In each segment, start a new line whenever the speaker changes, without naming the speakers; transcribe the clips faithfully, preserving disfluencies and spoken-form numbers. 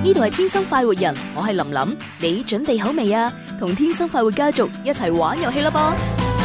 呢度係天生快活人，我係林林，你準備好未啊？同天生快活家族一齊玩遊戲啦噃！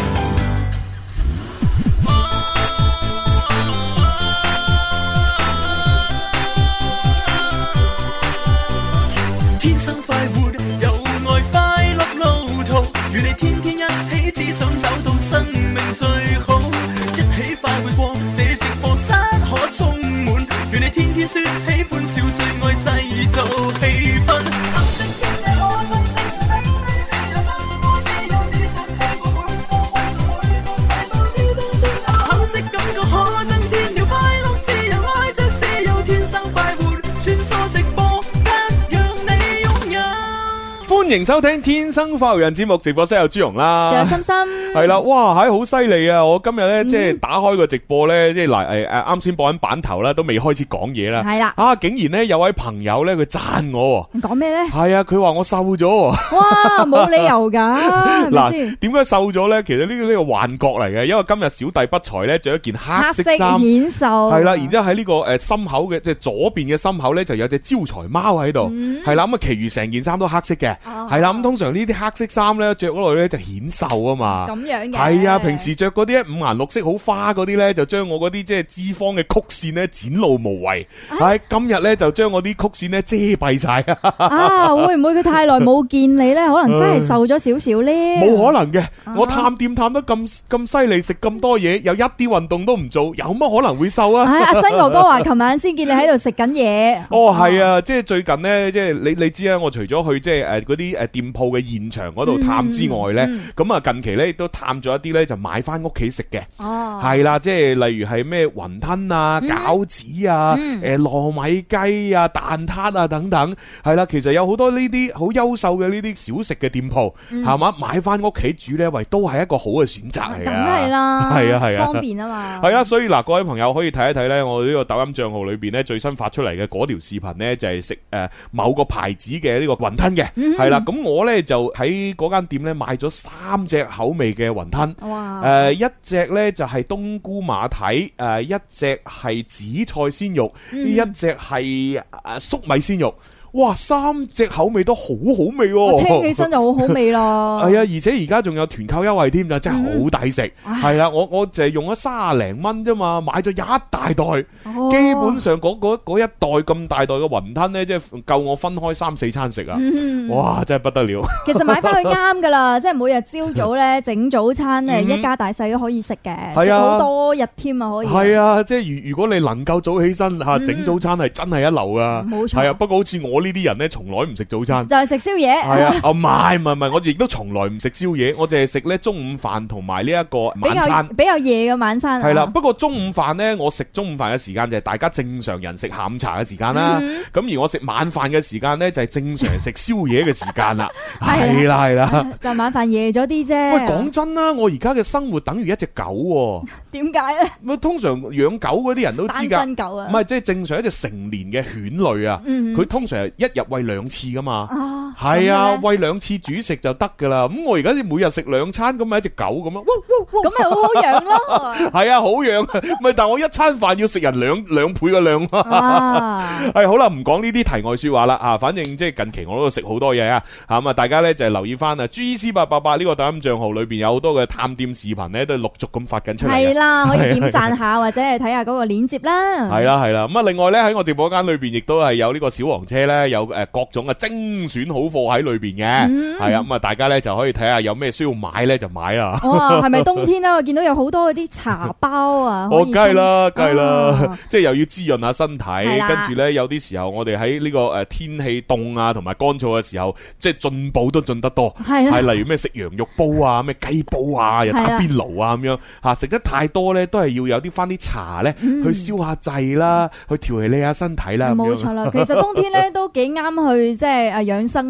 天生快活，有愛快樂路途，與你天天一起，只想找到生命最好，一起快活過，這直播室可充滿，與你天天說喜歡笑，最愛製造氣氛。橙色經濟可增值，美麗自由生活，自由自信地過每個運動，每個細胞跳動轉頭。橙色感覺可增添了快樂，自由愛着自由，天生快活，穿梭直播間，讓你擁有。
歡迎收聽《天生快活人》節目，直播室有朱容啦，
仲有心心，
係啦，哇，係好犀利啊！我今日咧即係打開個直播咧，即係嗱誒誒，啱先播緊版頭啦，都未開始講嘢啦，
係啦，
啊，竟然咧有位朋友咧佢讚我，
講咩咧？
係啊，佢話我瘦咗，
哇，冇理由噶，
嗱，點解瘦咗咧？其實呢個呢個幻覺嚟嘅，因為今日小弟不才咧着一件黑色衫，
顯瘦，
係啦，然之後喺呢個誒心口嘅即係左邊嘅心口咧就有隻招財貓喺度，係啦，咁啊，其餘成件衫都黑色嘅，係啦，咁通常呢啲黑色衫咧着嗰度咧就顯瘦啊嘛，
咁樣嘅，
係啊，平時着嗰啲五顏六色好花嗰啲咧，就將我嗰啲即係脂肪嘅曲線咧展露無遺，係今日咧就將我啲曲線咧遮蔽晒
啊！會唔會佢太耐冇見你咧？可能真係瘦咗少少咧？
冇可能嘅，我探店探得咁咁犀利，食咁多嘢，又一啲運動都唔做，有乜可能會瘦啊？
阿新哥哥話，琴晚先見你喺度食緊嘢。
哦，係啊，即係最近咧，即係你你知啊，我除咗去即係誒嗰啲誒店鋪嘅現場嗰度探之外咧，咁啊近期咧亦都探咗一啲咧，就買翻屋企食嘅。哦，係啦，即係例如係咩雲吞啊、餃子啊、誒糯米雞啊、蛋撻啊等等，係啦，其實有好多呢啲好優秀嘅呢啲小食嘅店鋪，係嘛，買翻屋企煮咧，喂，都係一個好嘅選擇嚟嘅。
梗係啦，
係啊係啊，
方便啊嘛。
係啦，所以嗱，各位朋友可以睇一睇咧，我呢個抖音賬號裏邊咧最新發出嚟嘅嗰條視頻咧，就係食誒某個牌子嘅呢個雲吞嘅，係啦，咁我咧就喺嗰間店咧買咗三隻口味嘅雲吞，
哇，
誒一隻咧就係冬菇馬蹄，誒一隻係紫菜鮮肉，一隻係誒粟米鮮肉。哇！三隻口味都好好味喎，
我聽起身就好好味咯。
係啊，而且而家仲有團購優惠添，就真係好抵食。係啊，我我就係用咗三十零蚊啫嘛，買咗一大袋，基本上嗰嗰嗰一袋咁大袋嘅雲吞咧，即係夠我分開三四餐食啊！哇，真係不得了。
其實買翻去啱噶啦，即係每日朝早咧整早餐咧，一家大細都可以食嘅，食好多日添啊，可以。係
啊，即係如如果你能夠早起身吓整早餐，係真係一流噶。冇錯。係啊，不過好似我呢啲人咧，從來唔食早餐，
就係食宵夜。
係啊，哦唔係唔係唔係，我亦都從來唔食宵夜，我淨係食咧中午飯同埋呢一個晚餐，
比較夜嘅晚餐。
係啦，不過中午飯咧，我食中午飯嘅時間就係大家正常人食下午茶嘅時間啦。咁而我食晚飯嘅時間咧，就係正常人食宵夜嘅時間啦。係啦係啦，
就晚飯夜咗啲啫。
喂，講真啦，我而家嘅生活等於一隻狗。點解咧？咁通常養狗嗰啲人都知㗎，單身狗啊，唔係即係正常一隻成年嘅犬類啊，佢通常係一日餵兩次噶嘛，係啊，餵兩次煮食就得噶啦。咁我而家每日食兩餐，咁咪一隻狗咁咯，
咁咪好好養咯。
係啊，好養，咪但係我一餐飯要食人兩兩倍嘅量。係好啦，唔講呢啲題外說話啦啊，反正即係近期我都食好多嘢啊，咁啊大家咧就係留意翻啊 G C 八八八呢個抖音賬號裏邊有好多嘅探店視頻咧，都係陸續咁發緊出嚟。係啦，
可以點讚下或者係睇下嗰個鏈接啦。
係啦係啦，咁啊另外咧喺我直播間裏邊亦都係有呢個小黃車咧，有誒各種嘅精選好貨喺裏邊嘅，係啊，咁啊大家咧就可以睇下有咩需要買咧就買啦。
哇，係咪冬天咧？我見到有好多嗰啲茶包啊，
哦，梗係啦，梗係啦，即係又要滋潤下身體，跟住咧有啲時候我哋喺呢個誒天氣凍啊同埋乾燥嘅時候，即係進步都進得多，係例如咩食羊肉煲啊，咩雞煲啊，又打邊爐啊咁樣吓，食得太多咧都係要有啲翻啲茶咧去消下滯啦，去調理下身體啦。
冇錯啦，其實冬天咧都幾啱去即係誒養生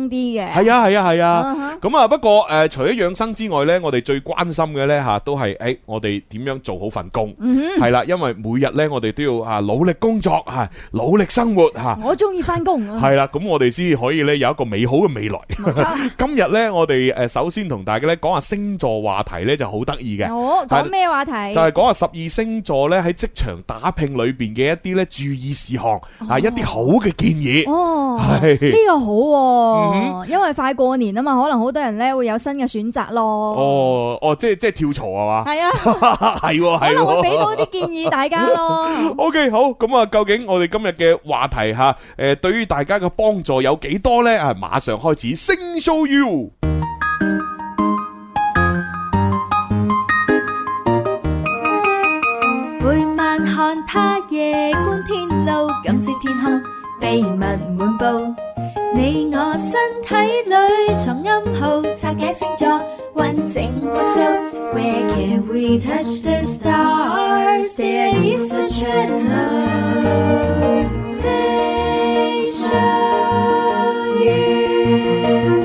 生啲嘅。
係啊係啊係啊。咁啊不過誒，除咗養生之外咧，我哋最關心嘅咧吓，都係誒我哋點樣做好份工。係啦，因為每日咧我哋都要啊努力工作吓，努力生活吓。
我中意翻工。
係啦，咁我哋先可以咧有一個美好嘅未來。
冇錯。
今日咧我哋誒首先同大家咧講下星座話題咧就好得意嘅。
哦，講咩話題？
就係講下十二星座咧喺職場打拼裏邊嘅一啲咧注意事項啊，一啲好嘅建議。
哦，
係
呢個好，因為快過年啊嘛，可能好多人咧會有新嘅選擇咯。
哦哦，即係即係跳槽係嘛？
係啊，
係係，
可能會俾到啲建議大家咯。
OK， 好，咁啊，究竟我哋今日嘅話題吓，誒，對於大家嘅幫助有幾多咧？啊，馬上開始星 show you。
每晚看他夜觀天路，感知天空秘密滿布。你我身體裏藏暗號，拆解星座完整無數。Where can we touch the stars? There is a channel. Say show you。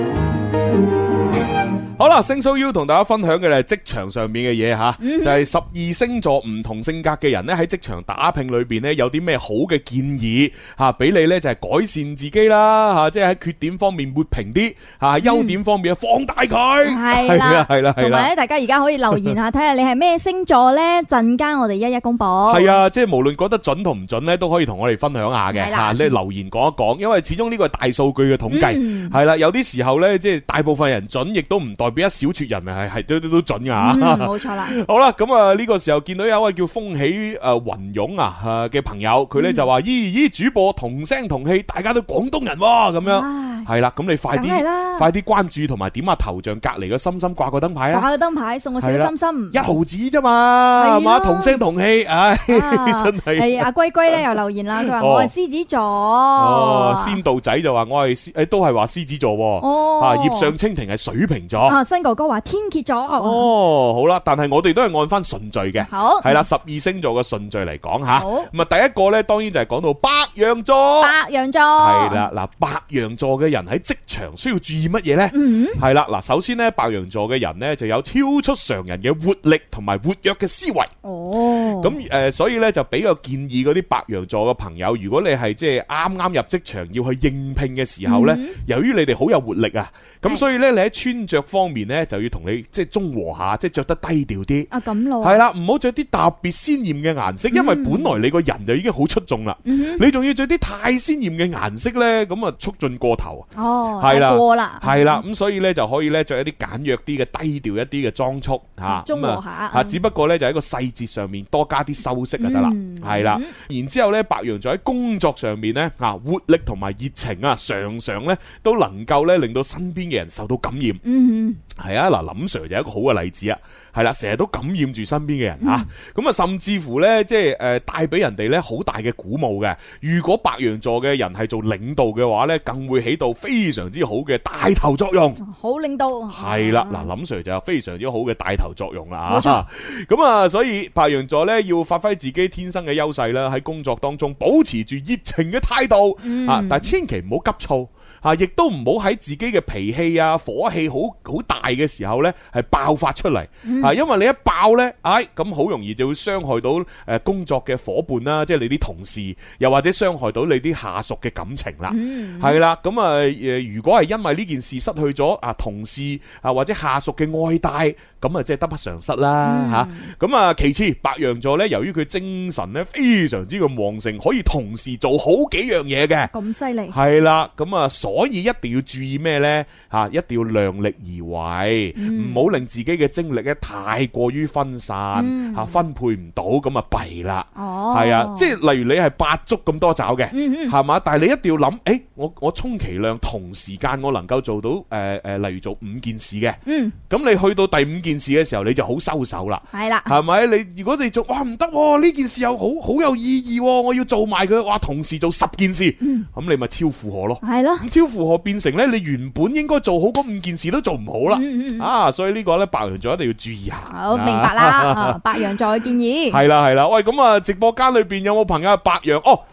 好啦，星 show you 同大家分享嘅係職場上面嘅嘢吓，就係十二星座唔同性格嘅人咧喺職場打拼裏邊咧有啲咩好嘅建議吓，俾你咧就係改善自己啦吓，即係喺缺點方面抹平啲吓，優點方面放大佢。
係啦
係啦係啦。
同埋咧，大家而家可以留言下，睇下你係咩星座咧，陣間我哋一一公布。
係啊，即係無論覺得準同唔準咧，都可以同我哋分享下嘅吓，你留言講一講，因為始終呢個係大數據嘅統計，係啦，有啲時候咧，即係大部分人準，亦都唔代表一小撮人啊，係係都都都準噶。
冇錯啦。
好啦，咁啊呢個時候見到有一位叫風起誒雲湧啊嘅朋友，佢咧就話：咦咦，主播同聲同氣，大家都廣東人喎，咁樣係啦。咁你快啲快啲關注同埋點下頭像隔籬個心心掛個燈牌啊！
掛個燈牌送個小心心，
一毫子啫嘛，係嘛？同聲同氣，唉，真係。
係阿龜龜咧又留言啦，佢話我係獅子座。
哦，仙道仔就話我係誒都係話獅子座。哦，啊葉上蜻蜓係水瓶座。
啊新哥哥話天蠍座。
哦，好啦，但係我哋都係按翻順序嘅。
好，
係啦，十二星座嘅順序嚟講吓。
好，
咁啊第一個咧，當然就係講到白羊座。
白羊座
係啦，嗱，白羊座嘅人喺職場需要注意乜嘢咧？嗯，係啦，嗱，首先咧，白羊座嘅人咧就有超出常人嘅活力同埋活躍嘅思維。哦，咁誒、呃，所以咧就比較建議嗰啲白羊座嘅朋友，如果你係即係啱啱入職場要去應聘嘅時候咧，嗯、由於你哋好有活力啊，咁所以咧你喺穿着方面咧就要同你即係中和下，即係着得低調啲。啊，咁咯。係啦，唔好着啲特別鮮豔嘅顏色，因為本來你個人就已經好出眾啦，嗯、你仲要着啲太鮮豔嘅顏色咧，咁啊促進過頭。哦，係啦，過啦，係啦，咁所以咧就可以咧着一啲簡約啲嘅低調一啲嘅裝束吓，中和下吓，只不過咧就喺個細節上面多加啲修飾就得啦，係啦。然之後咧，白羊座喺工作上面咧啊，活力同埋熱情啊，常常咧都能夠咧令到身邊嘅人受到感染。嗯，係啊，嗱，林 Sir 就係一個好嘅例子啊，係啦，成日都感染住身邊嘅人吓，咁啊，甚至乎咧即係誒帶俾人哋咧好大嘅鼓舞嘅。如果白羊座嘅人係做領導嘅話咧，更會起到非常之好嘅帶頭作用。好領導係啦，嗱，林 Sir 就有非常之好嘅帶頭作用啦。冇錯，咁啊，所以白羊座咧要發揮自己天生嘅優勢啦，喺工作當中保持住熱情嘅態度、嗯、啊，但係千祈唔好急躁啊，亦都唔好喺自己嘅脾氣啊、火氣好好大嘅時候咧係爆發出嚟、嗯、啊，因為你一爆咧，唉、哎，咁好容易就會傷害到誒工作嘅伙伴啦，即係你啲同事，又或者傷害到你啲下屬嘅感情啦。係啦、嗯，咁啊誒，如果係因為呢件事失去咗啊同事啊或者下屬嘅愛戴，咁啊即係得不償失啦吓。咁、嗯、啊其次，白羊座咧，由於佢精神咧非常之咁旺盛，可以同時做好幾樣嘢嘅。咁犀利。係啦，咁啊所以一定要注意咩咧吓，一定要量力而為，唔好、嗯、令自己嘅精力咧太過於分散吓、嗯，分配唔到咁啊弊啦。哦，係啊，即係例如你係八足咁多爪嘅，係嘛、嗯嗯？但係你一定要諗，誒、欸，我我充其量同時間我能夠做到誒誒、呃呃，例如做五件事嘅。嗯，咁你去到第五件事嘅時候，你就好收手啦。係啦，係咪？你如果你做哇唔得，呢件事又好好有意義，我要做埋佢，哇，同時做十件事，咁、嗯、你咪超負荷咯。係咯，咁超負荷變成咧，你原本應該做好嗰五件事都做唔好啦。嗯嗯啊，所以呢個咧白羊座一定要注意下。好，明白啦。白羊座嘅建議係啦係啦，喂，咁啊，直播間裏邊有冇朋友係白羊？哦。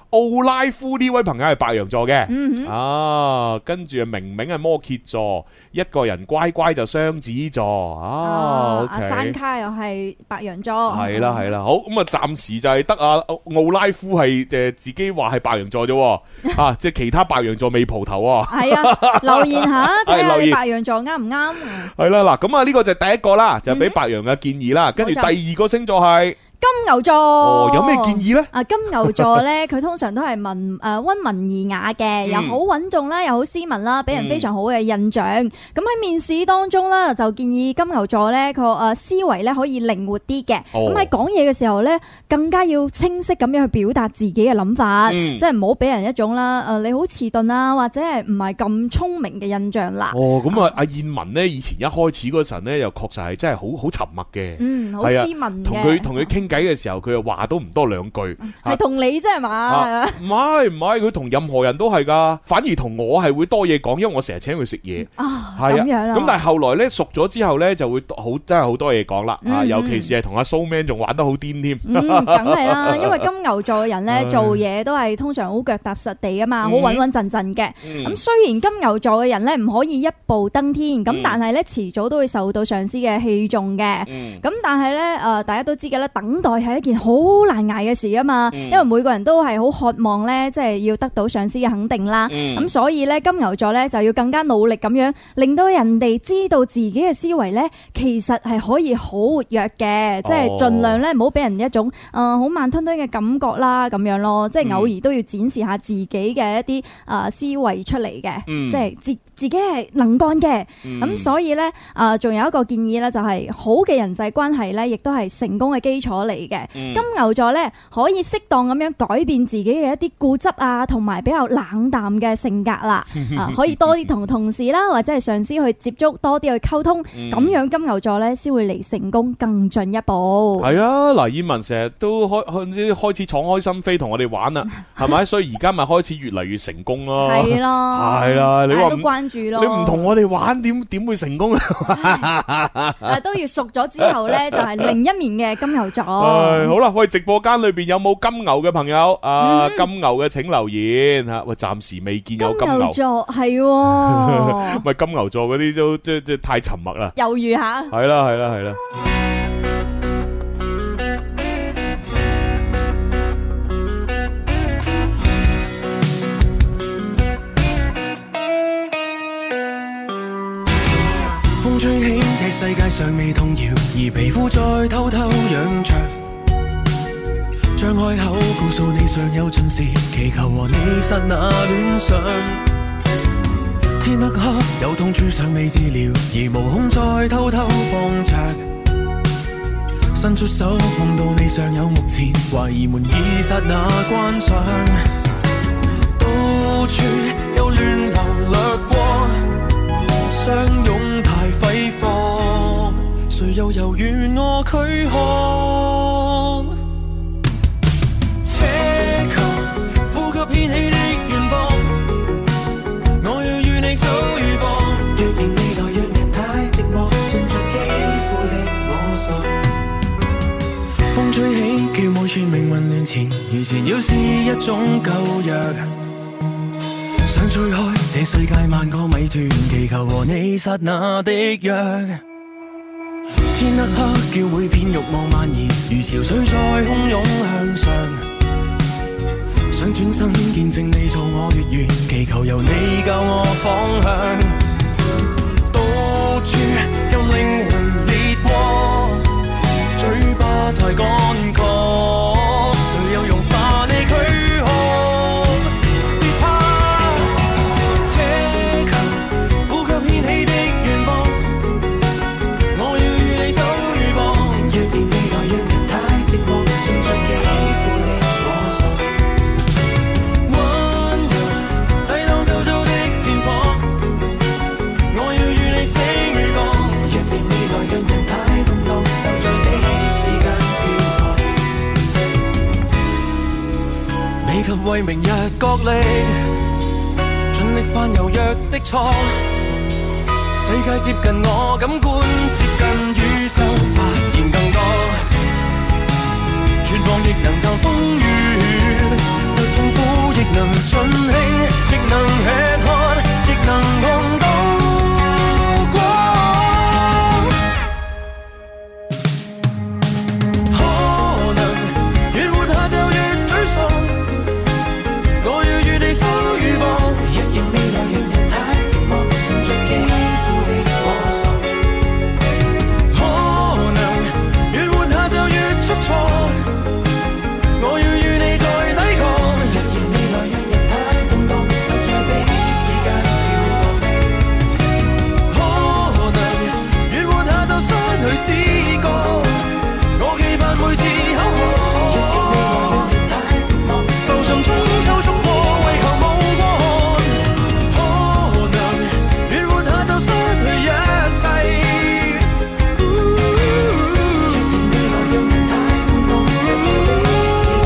奧拉夫呢位朋友係白羊座嘅，
嗯、
啊，跟住啊明明係摩羯座，一個人乖乖就雙子座，啊，
阿山卡又係白羊座，
係啦係啦，好咁啊，暫時就係得阿奧拉夫係誒自己話係白羊座啫，啊，即係其他白羊座未蒲頭啊，
係啊，留言下睇下你白羊座啱唔啱？係
啦嗱，咁啊呢個就係第一個啦，就係俾白羊嘅建議啦，跟住第二個星座係
金牛座。
哦，有咩建議呢？
啊，金牛座咧，佢通常都係文誒温文爾雅嘅，又好穩重啦，又好斯文啦，俾人非常好嘅印象。咁喺面試當中咧，就建議金牛座咧，佢誒思維咧可以靈活啲嘅。咁喺講嘢嘅時候咧，更加要清晰咁樣去表達自己嘅諗法，即係唔好俾人一種啦誒你好遲鈍啊，或者係唔係咁聰明嘅印象啦。
哦，咁啊，阿燕文咧，以前一開始嗰陣咧，又確實係真係好好沉默嘅，
嗯，好斯文嘅。
同佢同佢傾偈嘅時候，佢又話都唔多兩句。
係同你啫係嘛？
唔係唔係，佢同任何人都係噶，反而同我係會多嘢講，因為我成日請佢食嘢。
啊，咁樣啦。
咁但係後來咧熟咗之後咧，就會好真係好多嘢講啦。啊，尤其是係同阿蘇 man 仲玩得好癲添。
嗯，梗係啦，因為金牛座嘅人咧做嘢都係通常好腳踏實地啊嘛，好穩穩陣陣嘅。咁雖然金牛座嘅人咧唔可以一步登天，咁但係咧遲早都會受到上司嘅器重嘅。咁但係咧誒，大家都知嘅啦，等待係一件好難捱嘅事啊嘛，因為每個人都係好渴望咧，即係要得到上司嘅肯定啦。咁所以咧，金牛座咧就要更加努力咁樣，令到人哋知道自己嘅思維咧，其實係可以好活躍嘅，即係盡量咧唔好俾人一種誒好慢吞吞嘅感覺啦，咁樣咯，即係偶爾都要展示下自己嘅一啲誒思維出嚟嘅，即係自自己係能幹嘅。咁所以咧誒，仲有一個建議咧，就係好嘅人際關係咧，亦都係成功嘅基礎嚟嘅。金牛座咧可以適當咁樣改變自己嘅一啲固執啊，同埋比較冷淡嘅性格啦。啊，可以多啲同同事啦，或者係上司去接觸，多啲去溝通，咁、嗯、樣金牛座咧先會離成功更進一步。係啊，
嗱，燕文成日都開開開始敞開心扉同我哋玩啦，係咪？所以而家咪開始越嚟越成功咯。
係咯，
係啦，你話
都關注咯。
你唔同我哋玩，點點會成功啊？
誒，都要熟咗之後咧，就係另一面嘅金牛座。
誒，好啦，喂，直播間裏邊有冇金牛嘅朋友？啊，嗯、金牛嘅請留言吓。喂，暫時未見有金牛。
金牛座係，唔
係金牛座嗰啲都即即太沉默啦。
猶豫下。
係啦，係啦，係啦。
風吹起，這世界上未動搖，而皮膚再偷偷癢着。張開口告訴你尚有盡時，祈求和你剎那戀上。天黑黑有痛處尚未治療，而無空再偷偷放着。伸出手碰到你尚有目前，懷疑門已剎那關上。到處有亂流掠過，相擁太揮霍，誰又猶豫我軀殼？奢求呼吸掀起的遠方，我要與你守與防。若然未來讓人太寂寞，順着肌膚力摸索。風吹起，叫每串命運亂纏，如纏繞是一種舊藥。想吹開這世界萬個謎團，祈求和你剎那的約。天黑黑叫每片慾望蔓延，如潮水在洶湧向上。想轉身見證你做我月圓，祈求由你教我方向。到處有靈魂烈火，嘴巴太乾涸，誰又融化你軀殼？別怕，奢求呼吸掀起的遠方，我要與你守與防。若然未來讓人太寂寞，順着肌膚力摸索。溫柔抵擋周遭的戰火，我要與你死與降。若然未來讓人太動盪，就在彼此間漂泊。未及為明日角力，盡力犯柔弱的錯。世界接近我感官，接近宇宙發現更多。絕望亦能透風雨，若痛苦能盡興，亦能吃喝，亦能碰到光。可能越活下就越沮喪，我要與你守與防。若然未來讓人太寂寞，存着肌膚的摸索。可能越活下就越出錯，我要與你再抵抗。若然未來讓人太動盪，就在彼此間漂泊。可能越活下就失去知覺，我期盼每次口渴。若然未來讓人太寂寞，浮沉中抽搐過，為求無過寒。可能越活下就失去一切。若然未來讓人太動盪，就在彼此間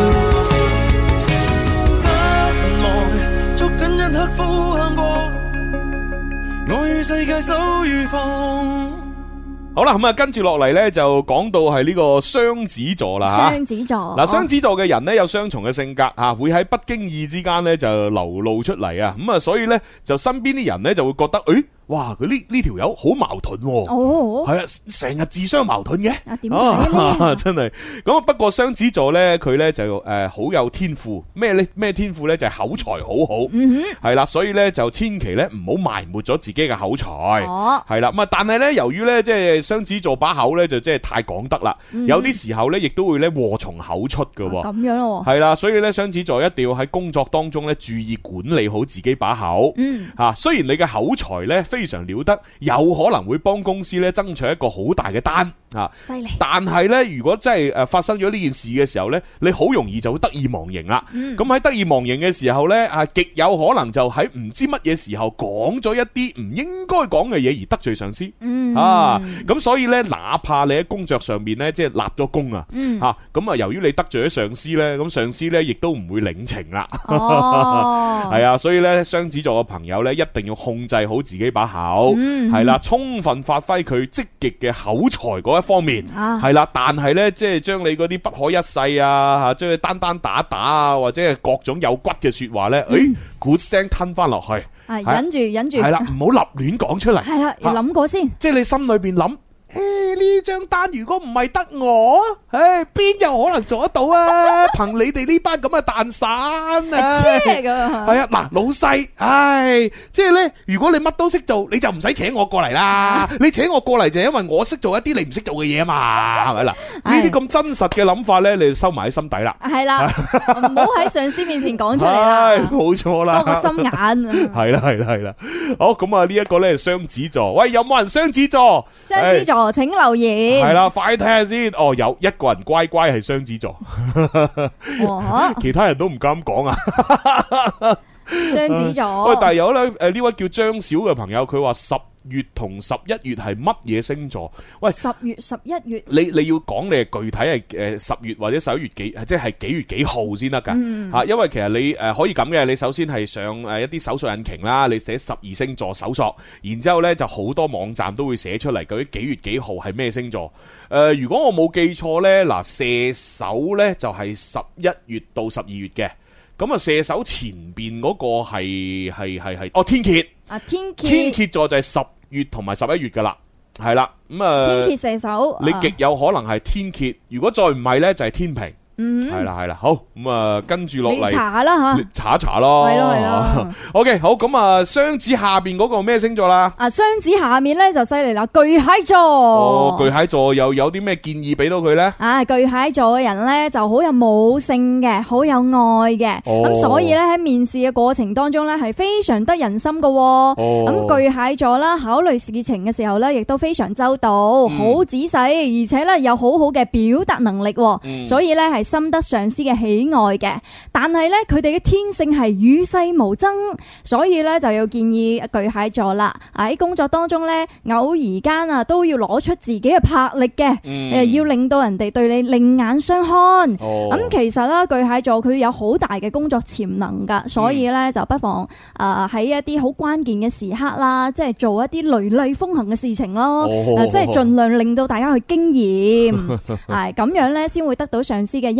漂泊。不忘捉緊一刻呼喊過，我與世界守與放。
好啦，咁啊，跟住落嚟咧就講到係呢個雙子座啦吓。
雙子座
嗱，雙子座嘅人咧有雙重嘅性格吓，會喺不經意之間咧就流露出嚟啊。咁啊，所以咧就身邊啲人咧就會覺得，誒，哇，佢呢呢條友好矛盾喎。
哦，
係啊，成日自相矛盾嘅。
啊，點解咧？
真係咁啊！不過雙子座咧，佢咧就誒好有天賦，咩咧咩天賦咧就係口才好好，
嗯
係啦，所以咧就千祈咧唔好埋沒咗自己嘅口才，
哦
係啦。咁啊，但係咧由於咧即係雙子座把口咧就即係太講得啦，有啲時候咧亦都會咧禍從口出㗎喎。
咁樣咯。
係啦，所以咧雙子座一定要喺工作當中咧注意管理好自己把口。
嗯，
吓，雖然你嘅口才咧非常了得，有可能會幫公司咧爭取一個好大嘅單啊，
犀利。
但係咧，如果真係誒發生咗呢件事嘅時候咧，你好容易就會得意忘形啦。咁喺、嗯、得意忘形嘅時候咧，啊極有可能就喺唔知乜嘢時候講咗一啲唔應該講嘅嘢而得罪上司。
嗯
啊，咁所以咧，哪怕你喺工作上面咧，即係立咗功啊，
嗯
吓咁啊，由於你得罪咗上司咧，咁上司咧亦都唔會領情啦。
哦，
係啊，所以咧，雙子座嘅朋友咧，一定要控制好自己把口，係啦、嗯，充分發揮佢積極嘅口才嗰一方面，係啦、啊。但係咧，即係將你嗰啲不可一世啊，吓將你單單打打啊，或者係各種有骨嘅說話咧，誒、嗯，鼓聲吞翻落去，
係忍住忍住，
係啦，唔好立亂講出嚟，
係啦，要諗過先，
即係你心裏邊諗。誒，呢張單如果唔係得我，誒，邊有可能做得到啊？憑你哋呢班咁嘅蛋散啊！
係啊，
嗱，老細，唉，即係咧，如果你乜都識做，你就唔使請我過嚟啦。你請我過嚟就係因為我識做一啲你唔識做嘅嘢啊嘛，係咪啦？呢啲咁真實嘅諗法咧，你就收埋喺心底啦。係啦，
唔好喺上司面前講出嚟啦。
冇錯啦，
多個心眼。
係啦，係啦，係啦。好，咁啊，呢一個咧係雙子座。喂，有冇人雙子座？
雙子座。請留言。
係啦，快睇下先。哦，有一個人乖乖係雙子座，其他人都唔敢講啊。
雙子座。
喂，但係有咧，誒呢位叫張小嘅朋友，佢話十月同十一月係乜嘢星座？喂，
十月十一月，
你你要講你係具體係誒十月或者十一月幾，即係幾月幾號先得噶吓？因為其實你誒可以咁嘅，你首先係上誒一啲搜索引擎啦，你寫十二星座搜索，然之後咧就好多網站都會寫出嚟，究竟幾月幾號係咩星座？誒、呃，如果我冇記錯咧，嗱射手咧就係十一月到十二月嘅。咁啊，射手前邊嗰個係係係係哦天蠍
啊天蠍
天蠍座就係十月同埋十一月噶啦，係啦咁啊
天蠍射手，
你極有可能係天蠍，如果再唔係咧就係天秤。係啦係啦，好咁啊，跟住落嚟
你查啦吓，
查一查咯，
係咯係咯。
OK，好咁啊，雙子下邊嗰個咩星座啦？
啊，雙子下面咧就犀利啦，巨蟹座。
哦，巨蟹座又有啲咩建議俾到佢咧？
啊，巨蟹座嘅人咧就好有母性嘅，好有愛嘅，咁、哦、所以咧喺面試嘅過程當中咧係非常得人心噶。哦，咁巨蟹座啦，考慮事情嘅時候咧亦都非常周到，好、嗯、仔細，而且咧有好好嘅表達能力，嗯、所以咧係深得上司嘅喜愛嘅，但係咧佢哋嘅天性係與世無爭，所以咧就要建議巨蟹座啦，喺工作當中咧偶爾間啊都要攞出自己嘅魄力嘅，誒、嗯、要令到人哋對你另眼相看。咁、哦、其實咧巨蟹座佢有好大嘅工作潛能噶，所以咧就不妨誒喺一啲好關鍵嘅時刻啦，即係做一啲雷厲風行嘅事情咯，哦、即係盡量令到大家去經驗，係咁樣咧先會得到上司嘅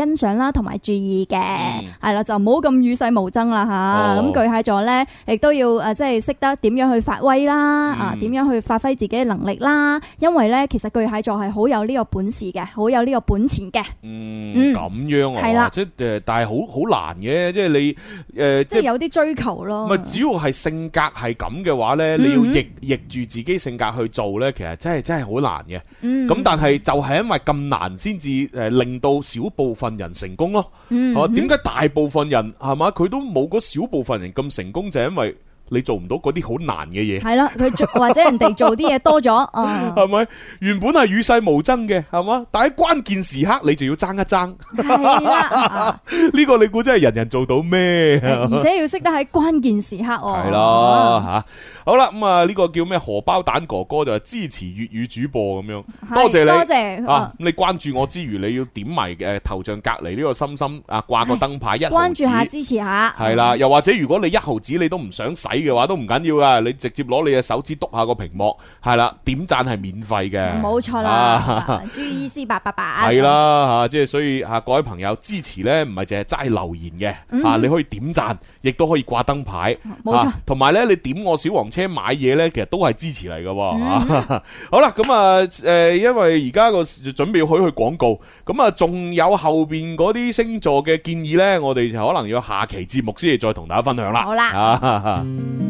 欣賞啦，同埋注意嘅，係、嗯、啦，就唔好咁與世無爭啦吓。咁、哦、巨蟹座咧，亦都要誒，即係識得點樣去發威啦，嗯、啊，點樣去發揮自己嘅能力啦。因為咧，其實巨蟹座係好有呢個本事嘅，好有呢個本錢嘅。嗯，咁、嗯、
樣啊，係啦，即係誒，但係好好難嘅，即係你誒，呃、即係有
啲追求咯。
唔係，只要係性格係咁嘅話咧，嗯、你要逆逆住自己性格去做咧，其實真係真係好難嘅。嗯，咁但係就係因為咁難，先至誒令到少部分人成功咯。嗯，啊，點解大部分人係嘛佢都冇嗰少部分人咁成功，就係因為你做唔到嗰啲好難嘅嘢。係啦，
佢做或者人哋做啲嘢多咗，啊，係咪？
原本係與世無爭嘅，係嘛？但喺關鍵時刻，你就要爭一爭。係啦，呢個你估真係人人做到咩？
而且要識得喺關鍵時刻哦。
係啦，吓。好啦，咁啊呢個叫咩荷包蛋哥哥就係支持粵語主播咁樣，多謝你，多謝啊！咁你關注我之餘，你要點埋誒頭像隔籬呢個心心啊，掛個燈牌一毫子，
關注下支持下。
係啦，又或者如果你一毫子你都唔想使嘅話，都唔緊要噶，你直接攞你嘅手指篤下個屏幕，係啦，點讚係免費嘅，
冇錯啦。G E C 八八八
係啦吓，即係所以吓各位朋友支持咧，唔係淨係齋留言嘅吓，你可以點讚，亦都可以掛燈牌，冇錯。同埋咧，你點我小黃車買嘢咧，其實都係支持嚟嘅。嗯、好啦，咁啊，誒，因為而家個準備去去廣告，咁啊，仲有後邊嗰啲星座嘅建議咧，我哋就可能要下期節目先至再同大家分享啦。
好啦。啊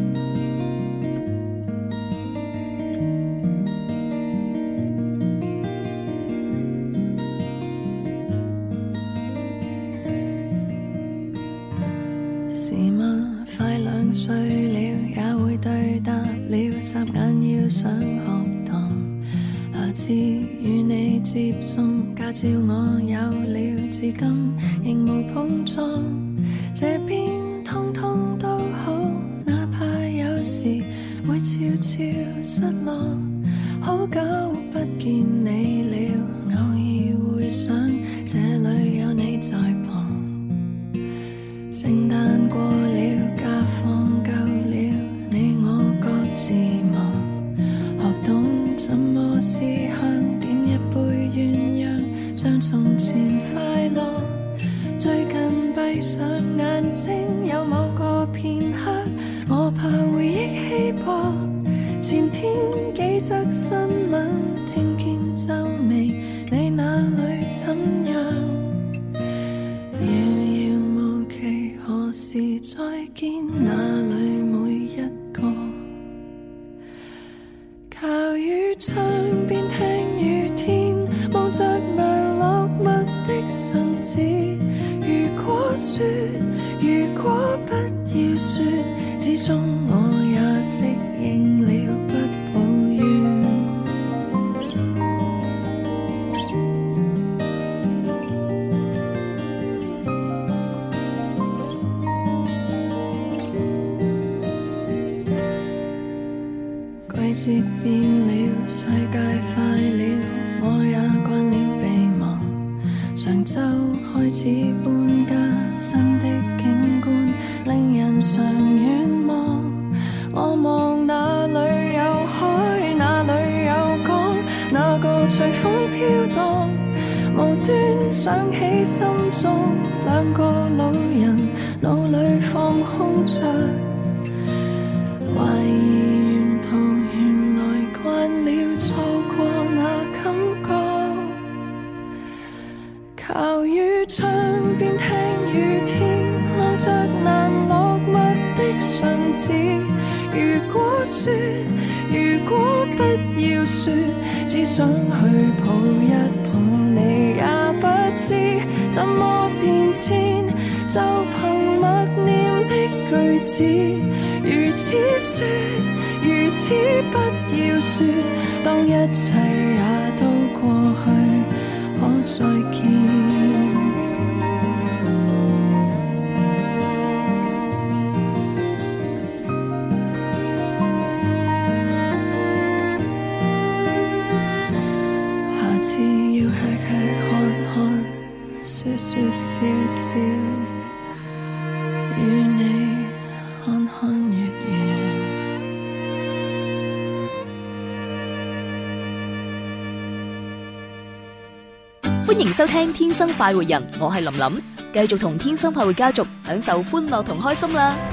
是嗎？快兩歲了，也會對答了，霎眼要上學堂。下次與你接送，駕照我有了，至今仍無碰撞。這邊通通都好，哪怕有時會悄悄失落。好久不見你了，偶爾會想這裏有你在旁。聖誕過了，假放夠了，你我各自忙，學懂怎麼思鄉，點一杯鴛鴦，像從前快樂。最近閉上眼睛，有某個片刻，我怕回憶稀薄。前天幾則新聞，聽見皺眉，你那裏怎樣？何時再見？哪裏每一個？靠於窗邊聽雨天，望着那落墨的信紙。如果說，如果不要說，始終我也適應了，不抱怨。季節變了，世界快了，我也慣了被忘。上週開始搬家，新的景觀令人常遠望。我望哪裏有海，哪裏有港，那個隨風飄蕩。無端想起心中兩個老人，腦裏放空着，懷疑慣了錯過那感覺，靠於窗邊聽雨天，望着難落墨的信紙。如果說，如果不要說，只想去抱一抱你，也不知怎麼變遷，就憑默念的句子，如此說，如此不要說，當一切也都過去，可再見。下次要吃吃喝喝，說說笑笑，與你看看月圓。
歡迎收聽天生快活人，我係林林，繼續同天生快活家族享受歡樂同開心啦。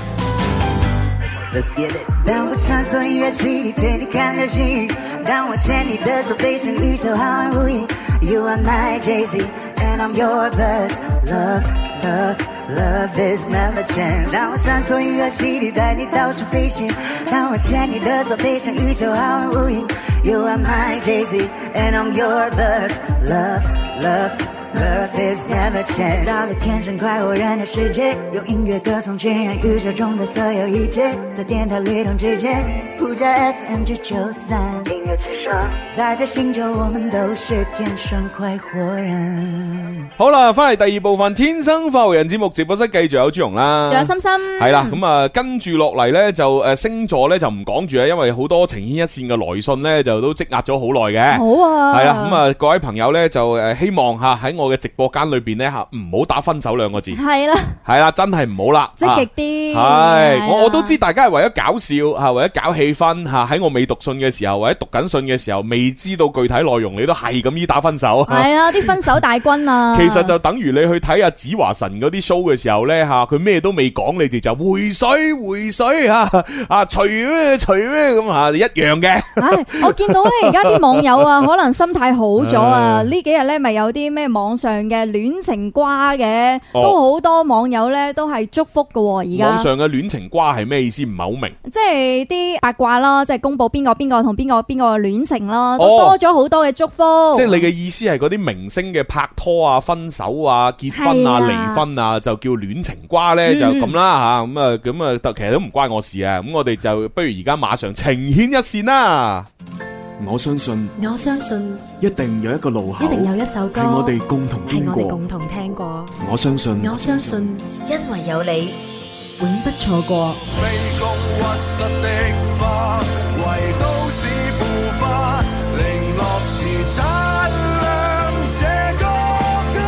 Let's get it。當我穿梭音樂季，陪你看流星雨，當我牽你的手飛向宇宙浩瀚無垠。You are my Jay-Z and I'm your Buzz. Love, love, love is never change。當我穿梭音樂季，帶你到處飛行，當我牽你的手飛向宇宙浩瀚無垠。You are my Jay-Z and I'm your Buzz. Love, love.Love is never change。到了天生快活人的世界，用音樂歌頌渲染宇宙中的所有一切，在電台律動之間，呼叫 F M 九九三，音樂之聲，在這星球我們都是天生快活人。
好啦，翻嚟第二部分《天生快活人》節目直播室，繼續有朱容啦，
仲有心心，
係啦，咁啊跟住落嚟咧就誒星座咧就唔講住啊，因為好多情牽一線嘅來信咧就都積壓咗好耐嘅。
好啊，
係啦，咁啊各位朋友咧就誒希望吓喺我嘅直播間裏邊咧吓唔好打分手兩個字，
係啦，
係啦，真係唔好啦，
積極啲。
係我我都知大家係為咗搞笑吓，為咗搞氣氛吓，喺我未讀信嘅時候或者讀緊信嘅時候，未知道具體內容，你都係咁依打分手。
係啊，啲分手大軍啊。
其實就等於你去睇阿子華神嗰啲 show 嘅時候咧吓，佢咩都未講，你哋就回水回水吓啊，除咩除咩咁吓，一樣嘅。
唉，我見到咧而家啲網友啊，可能心態好咗啊，呢幾日咧咪有啲咩網上嘅戀情瓜嘅，
哦、
都好多網友咧都係祝福嘅。而家
網上嘅戀情瓜係咩意思？唔係好明。即
係啲八卦啦，即係公布邊個邊個同邊個邊個戀情啦，都多咗好多嘅祝福。
哦、即係你嘅意思係嗰啲明星嘅拍拖啊、分手啊、結婚啊、離婚啊，就叫戀情瓜咧，嗯、就咁啦吓。咁啊咁啊，其實都唔關我事啊。咁我哋就不如而家馬上情牽一線啦。
我相信，
我相信
一定有一個路口，
一定有一首歌
係我哋共同聽過，
係我哋共同聽過。
我相信，
我相信，
因為有你，永不錯過。
卑躬屈膝的花，為都市腐化，零落時擦亮這個家，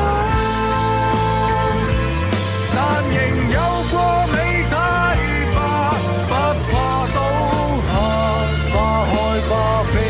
但仍有過美太吧，不怕倒下，花開花飛。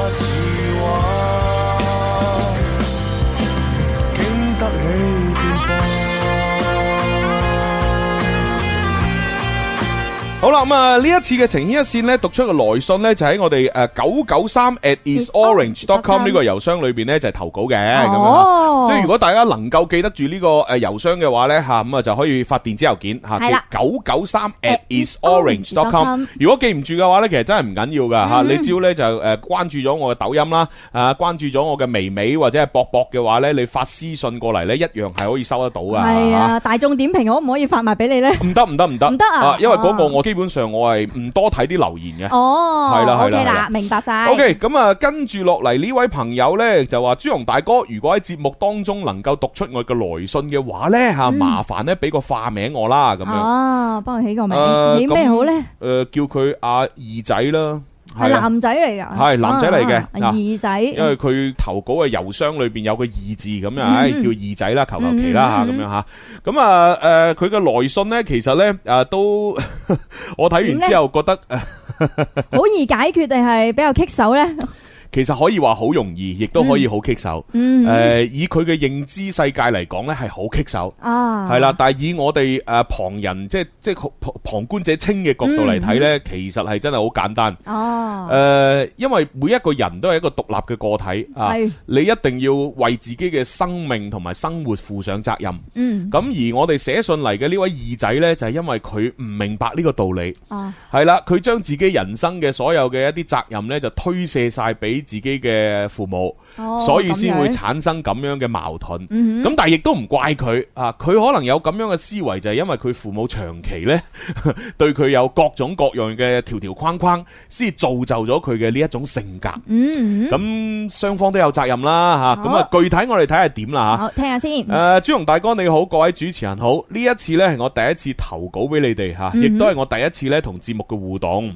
好啦，咁啊呢一次嘅情牽一線咧，讀出嘅來信咧就喺我哋誒九九三 at isorange dot com 呢個郵箱裏邊咧就係投稿嘅，咁樣，即係如果大家能夠記得住呢個誒郵箱嘅話咧吓，咁啊就可以發電子郵件吓，九九三 at isorange dot com。如果記唔住嘅話咧，其實真係唔緊要噶吓，你只要咧就誒關注咗我嘅抖音啦，啊關注咗我嘅微微或者係博博嘅話咧，你發私信過嚟咧，一樣係可以收得到噶。
係啊，大眾點評可唔可以發埋俾你咧？
唔得唔得唔得，
唔得啊！
因為嗰個我。基本上我係唔多睇啲留言嘅。
哦，
係啦係啦
OK 啦，明白晒。
OK， 咁啊，跟住落嚟呢位朋友呢，就話朱紅大哥，如果喺節目當中能夠讀出我嘅來信嘅話呢，吓、嗯、麻煩呢俾個化名我啦，咁樣。哦，
幫佢起個名，呃、起咩好呢？誒、
呃，叫佢阿二仔啦。
係男仔嚟噶，
係男仔嚟嘅，
二仔。
因為佢投稿嘅郵箱裏邊有個二字咁樣，唉，叫二仔啦，求求其啦吓，咁樣吓。咁啊，誒，佢嘅來信咧，其實咧，誒，都我睇完之後覺得
好易解決定係比較棘手咧？
其實可以話好容易，亦都可以好棘手。誒、嗯呃，以佢嘅認知世界嚟講咧，係好棘手。啊，係啦。但係以我哋誒旁人，即係即係旁旁觀者清嘅角度嚟睇咧，嗯、其實係真係好簡單。哦。誒、呃，因為每一個人都係一個獨立嘅個體啊，你一定要為自己嘅生命同埋生活負上責任。嗯。咁而我哋寫信嚟嘅呢位二仔咧，就係、是、因為佢唔明白呢個道理。啊。係啦，佢將自己人生嘅所有嘅一啲責任咧，就推卸晒俾自己嘅父母，哦、所以先會產生咁樣嘅矛盾。咁、嗯、但係亦都唔怪佢啊，佢可能有咁樣嘅思維，就係因為佢父母長期呢對佢有各種各樣嘅條條框框，先造就咗佢嘅呢一種性格。咁雙、嗯、方都有責任啦吓。咁啊，具體我哋睇下點啦吓。
好，聽下先。誒、
呃，朱紅大哥你好，各位主持人好。呢一次呢係我第一次投稿俾你哋吓，亦都係我第一次呢同節目嘅互動。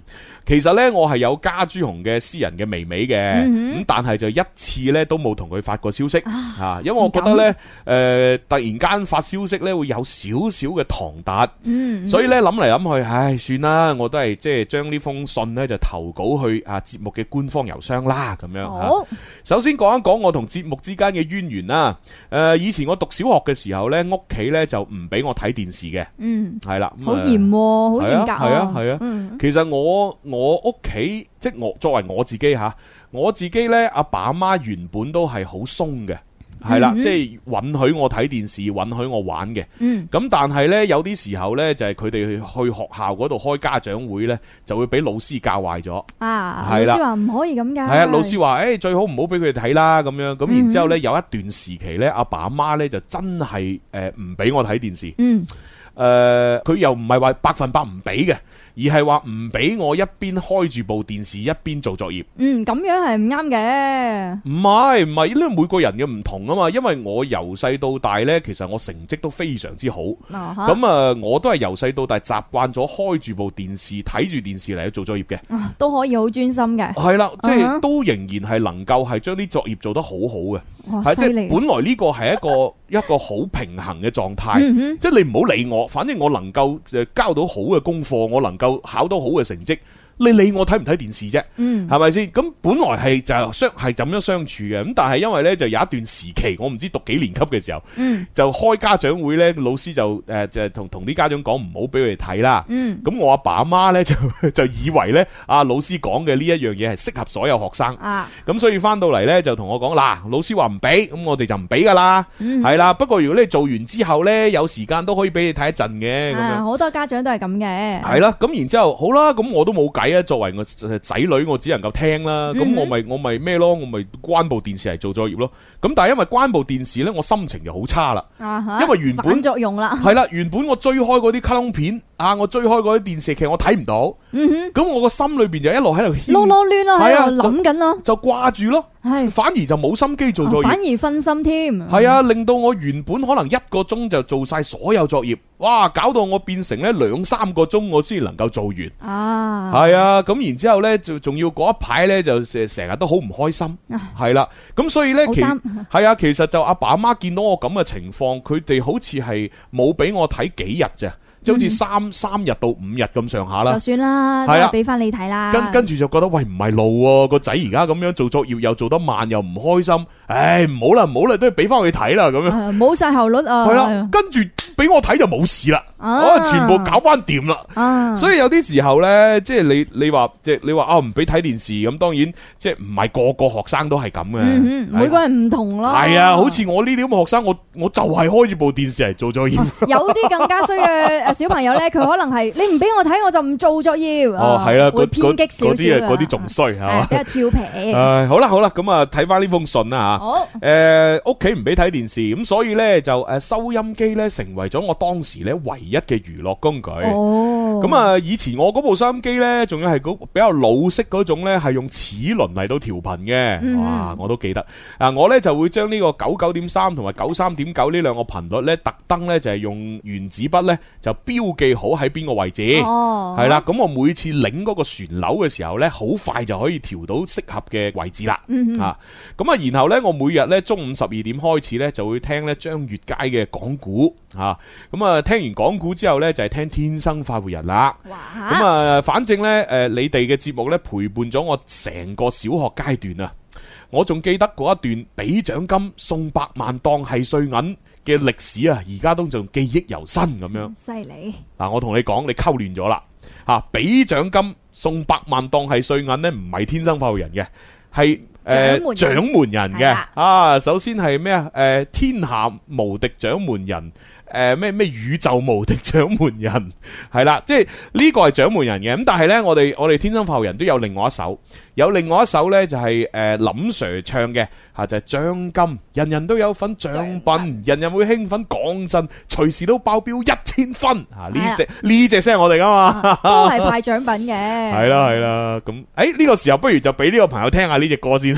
其實咧我係有加朱紅嘅私人嘅微微嘅，咁、嗯、但係就一次咧都冇同佢發過消息啊，啊，因為我覺得咧誒、呃、突然間發消息咧會有少少嘅唐突，嗯、所以咧諗嚟諗去，唉，算啦，我都係即係將呢封信咧就投稿去啊節目嘅官方郵箱啦，咁樣、哦啊、首先講一講我同節目之間嘅淵源啦。誒、呃，以前我讀小學嘅時候咧，屋企咧就唔俾我睇電視嘅，嗯，係啦，
好嚴，好嚴格，
係啊，係啊，嗯、其實我我屋企即係我作為我自己吓，我自己咧阿爸阿媽原本都係好鬆嘅。係啦，即係允許我睇電視，允許我玩嘅。嗯，咁但係呢，有啲時候呢，就係佢哋去學校嗰度開家長會呢，就會俾老師教壞咗。啊，係啦，老師話唔可以咁噶。係啊，老師話誒最好唔好俾佢哋睇啦，咁樣咁然之後呢，有一段時期呢，阿爸阿媽呢就真係誒唔俾我睇電視。嗯。誒，佢又唔係話百分百唔俾嘅，而係話唔俾我一邊開住部電視一邊做作業。嗯，咁樣係唔啱嘅。唔係唔係，因為每個人嘅唔同啊嘛。因為我由細到大呢，其實我成績都非常之好。咁啊，我都係由細到大習慣咗開住部電視睇住電視嚟做作業嘅。都可以好專心嘅。係啦，即係都仍然係能夠係將啲作業做得好好嘅。係即係本來呢個係一個一個好平衡嘅狀態。嗯、即係你唔好理我。反正我能夠誒交到好嘅功課，我能夠考到好嘅成績，你理我睇唔睇電視啫？嗯，係咪先？咁本來係就相係咁樣相處嘅，咁但係因為咧就有一段時期，我唔知讀幾年級嘅時候，嗯，就開家長會咧，老師就誒、呃、就同同啲家長講唔好俾佢哋睇啦。嗯，咁我阿爸阿媽咧就就以為咧啊老師講嘅呢一樣嘢係適合所有學生啊，咁所以翻到嚟咧就同我講嗱，老師話唔俾，咁我哋就唔俾噶啦，係啦、嗯。不過如果你做完之後咧有時間都可以俾你睇一陣嘅，咁樣好多家長都係咁嘅。係啦，咁然之後好啦，咁我都冇計。作為我仔女，我只能夠聽啦。咁、嗯、我咪我咪咩咯？我咪關部電視嚟做作業咯。咁但係因為關部電視呢，我心情就好差啦。啊、因為原本反作用啦。係啦，原本我追開嗰啲卡通片啊，我追開嗰啲電視劇，我睇唔到。咁、嗯、我個心裏邊就一路喺度囉囉攣啦，喺度諗緊咯，就掛住咯。係，反而就冇心機做作業，反而分心添。係啊，令到我原本可能一個鐘就做晒所有作業，哇，搞到我變成咧兩三個鐘我先能夠做完。啊，係啊，咁然之後咧就仲要嗰一排咧就成成日都好唔開心。係啦、啊，咁所以咧其係啊，其實就阿爸阿媽見到我咁嘅情況，佢哋好似係冇俾我睇幾日啫。即好似三三日到五日咁上下啦，就算啦，係啊，俾翻你睇啦。跟跟住就覺得喂唔係路喎，個仔而家咁樣做作業又做得慢又唔開心，唉唔好啦唔好啦，都係俾翻佢睇啦咁樣，冇晒效率啊。係啦，跟住俾我睇就冇事啦，我全部搞翻掂啦。所以有啲時候咧，即係你你話即係你話啊唔俾睇電視咁，當然即係唔係個個學生都係咁嘅，每個人唔同咯。係啊，好似我呢啲咁嘅學生，我我就係開住部電視嚟做作業。有啲更加衰嘅。小朋友咧，佢可能係你唔俾我睇，我就唔做作業。哦，係啦，會偏激少少。嗰啲嗰啲仲衰係嘛？比較調皮。誒，好啦好啦，咁啊睇翻呢封信啦吓。好。誒，屋企唔俾睇電視，咁所以咧就誒收音機咧成為咗我當時咧唯一嘅娛樂工具。哦。咁啊，以前我嗰部收音機咧，仲要係嗰比較老式嗰種咧，係用齒輪嚟到調頻嘅。哇，我都記得。啊，我咧就會將呢個九九點三同埋九三點九呢兩個頻率咧，特登咧就係用原子筆咧就。標記好喺邊個位置，係啦、哦，咁我每次擰嗰個旋鈕嘅時候呢，好快就可以調到適合嘅位置啦。嗯、哼啊，咁啊，然後呢，我每日呢中午十二點開始呢，就會聽呢張月佳嘅講古，啊，咁啊，聽完講古之後呢，就係、是、聽天生快活人啦。咁啊，反正呢，誒，你哋嘅節目呢，陪伴咗我成個小學階段啊，我仲記得嗰一段俾獎金送百萬當係碎銀嘅歷史啊，而家都仲記憶猶新咁樣。犀利！嗱，我同你講，你溝亂咗啦。吓，俾獎金送百萬當係碎銀呢，唔係天生快活人嘅，係誒獎門人嘅。啊，首先係咩啊？誒、呃，天下無敵獎門人。誒咩咩宇宙無敵獎門人係啦，即係呢個係獎門人嘅。咁但係呢，我哋我哋天生快活人都有另外一首，有另外一首呢，就係、是、誒、呃、林 Sir 唱嘅吓，就係、是、獎金，人人都有份獎品，人人會興奮，講真，隨時都爆標一千分吓，呢隻呢隻聲係我哋噶嘛，都係派獎品嘅。係啦係啦，咁誒呢個時候不如就俾呢個朋友聽下呢隻歌先。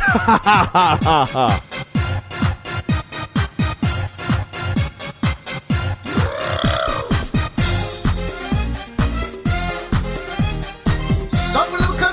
Some little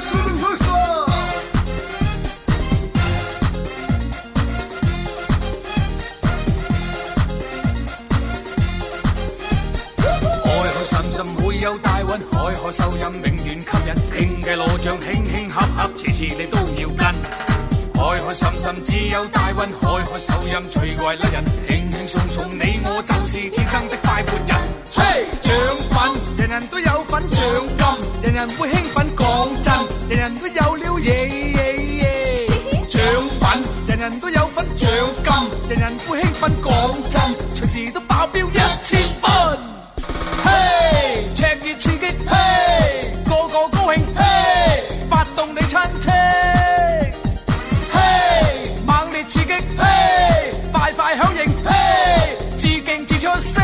海海收音永遠吸引，興嘅羅像輕輕合合，次次你都要跟。海海深深只有大運，海海手音最怪甩人，輕輕鬆鬆你我就是天生的快活人。嘿，獎品人人都有份，獎金人人會興奮，講真人人都有了嘢嘢嘢。獎品人人都有份，獎金人人會興奮，講真隨時都爆標一千分。嘿，赤熱刺激，嘿，個個高興，嘿，發動你親戚。刺激，嘿，快快響應，嘿，自勁自出聲。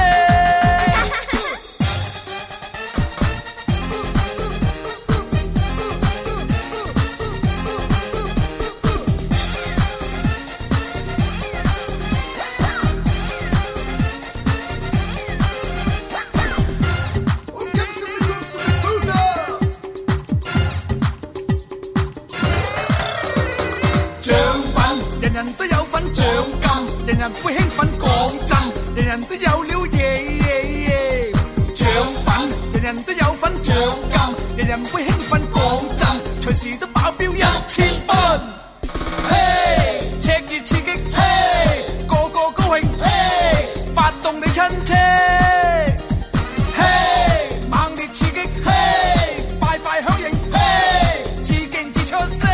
人人都有份獎金，人人會興奮，講真，人人都有了嘢嘢嘢。獎品人人都有份，獎金人人會興奮，講真，隨時都爆標一千分。嘿，赤熱刺激，嘿，個個高興，嘿，發動你親戚。嘿，猛烈刺激，嘿，快快響應，嘿，自勁自出聲。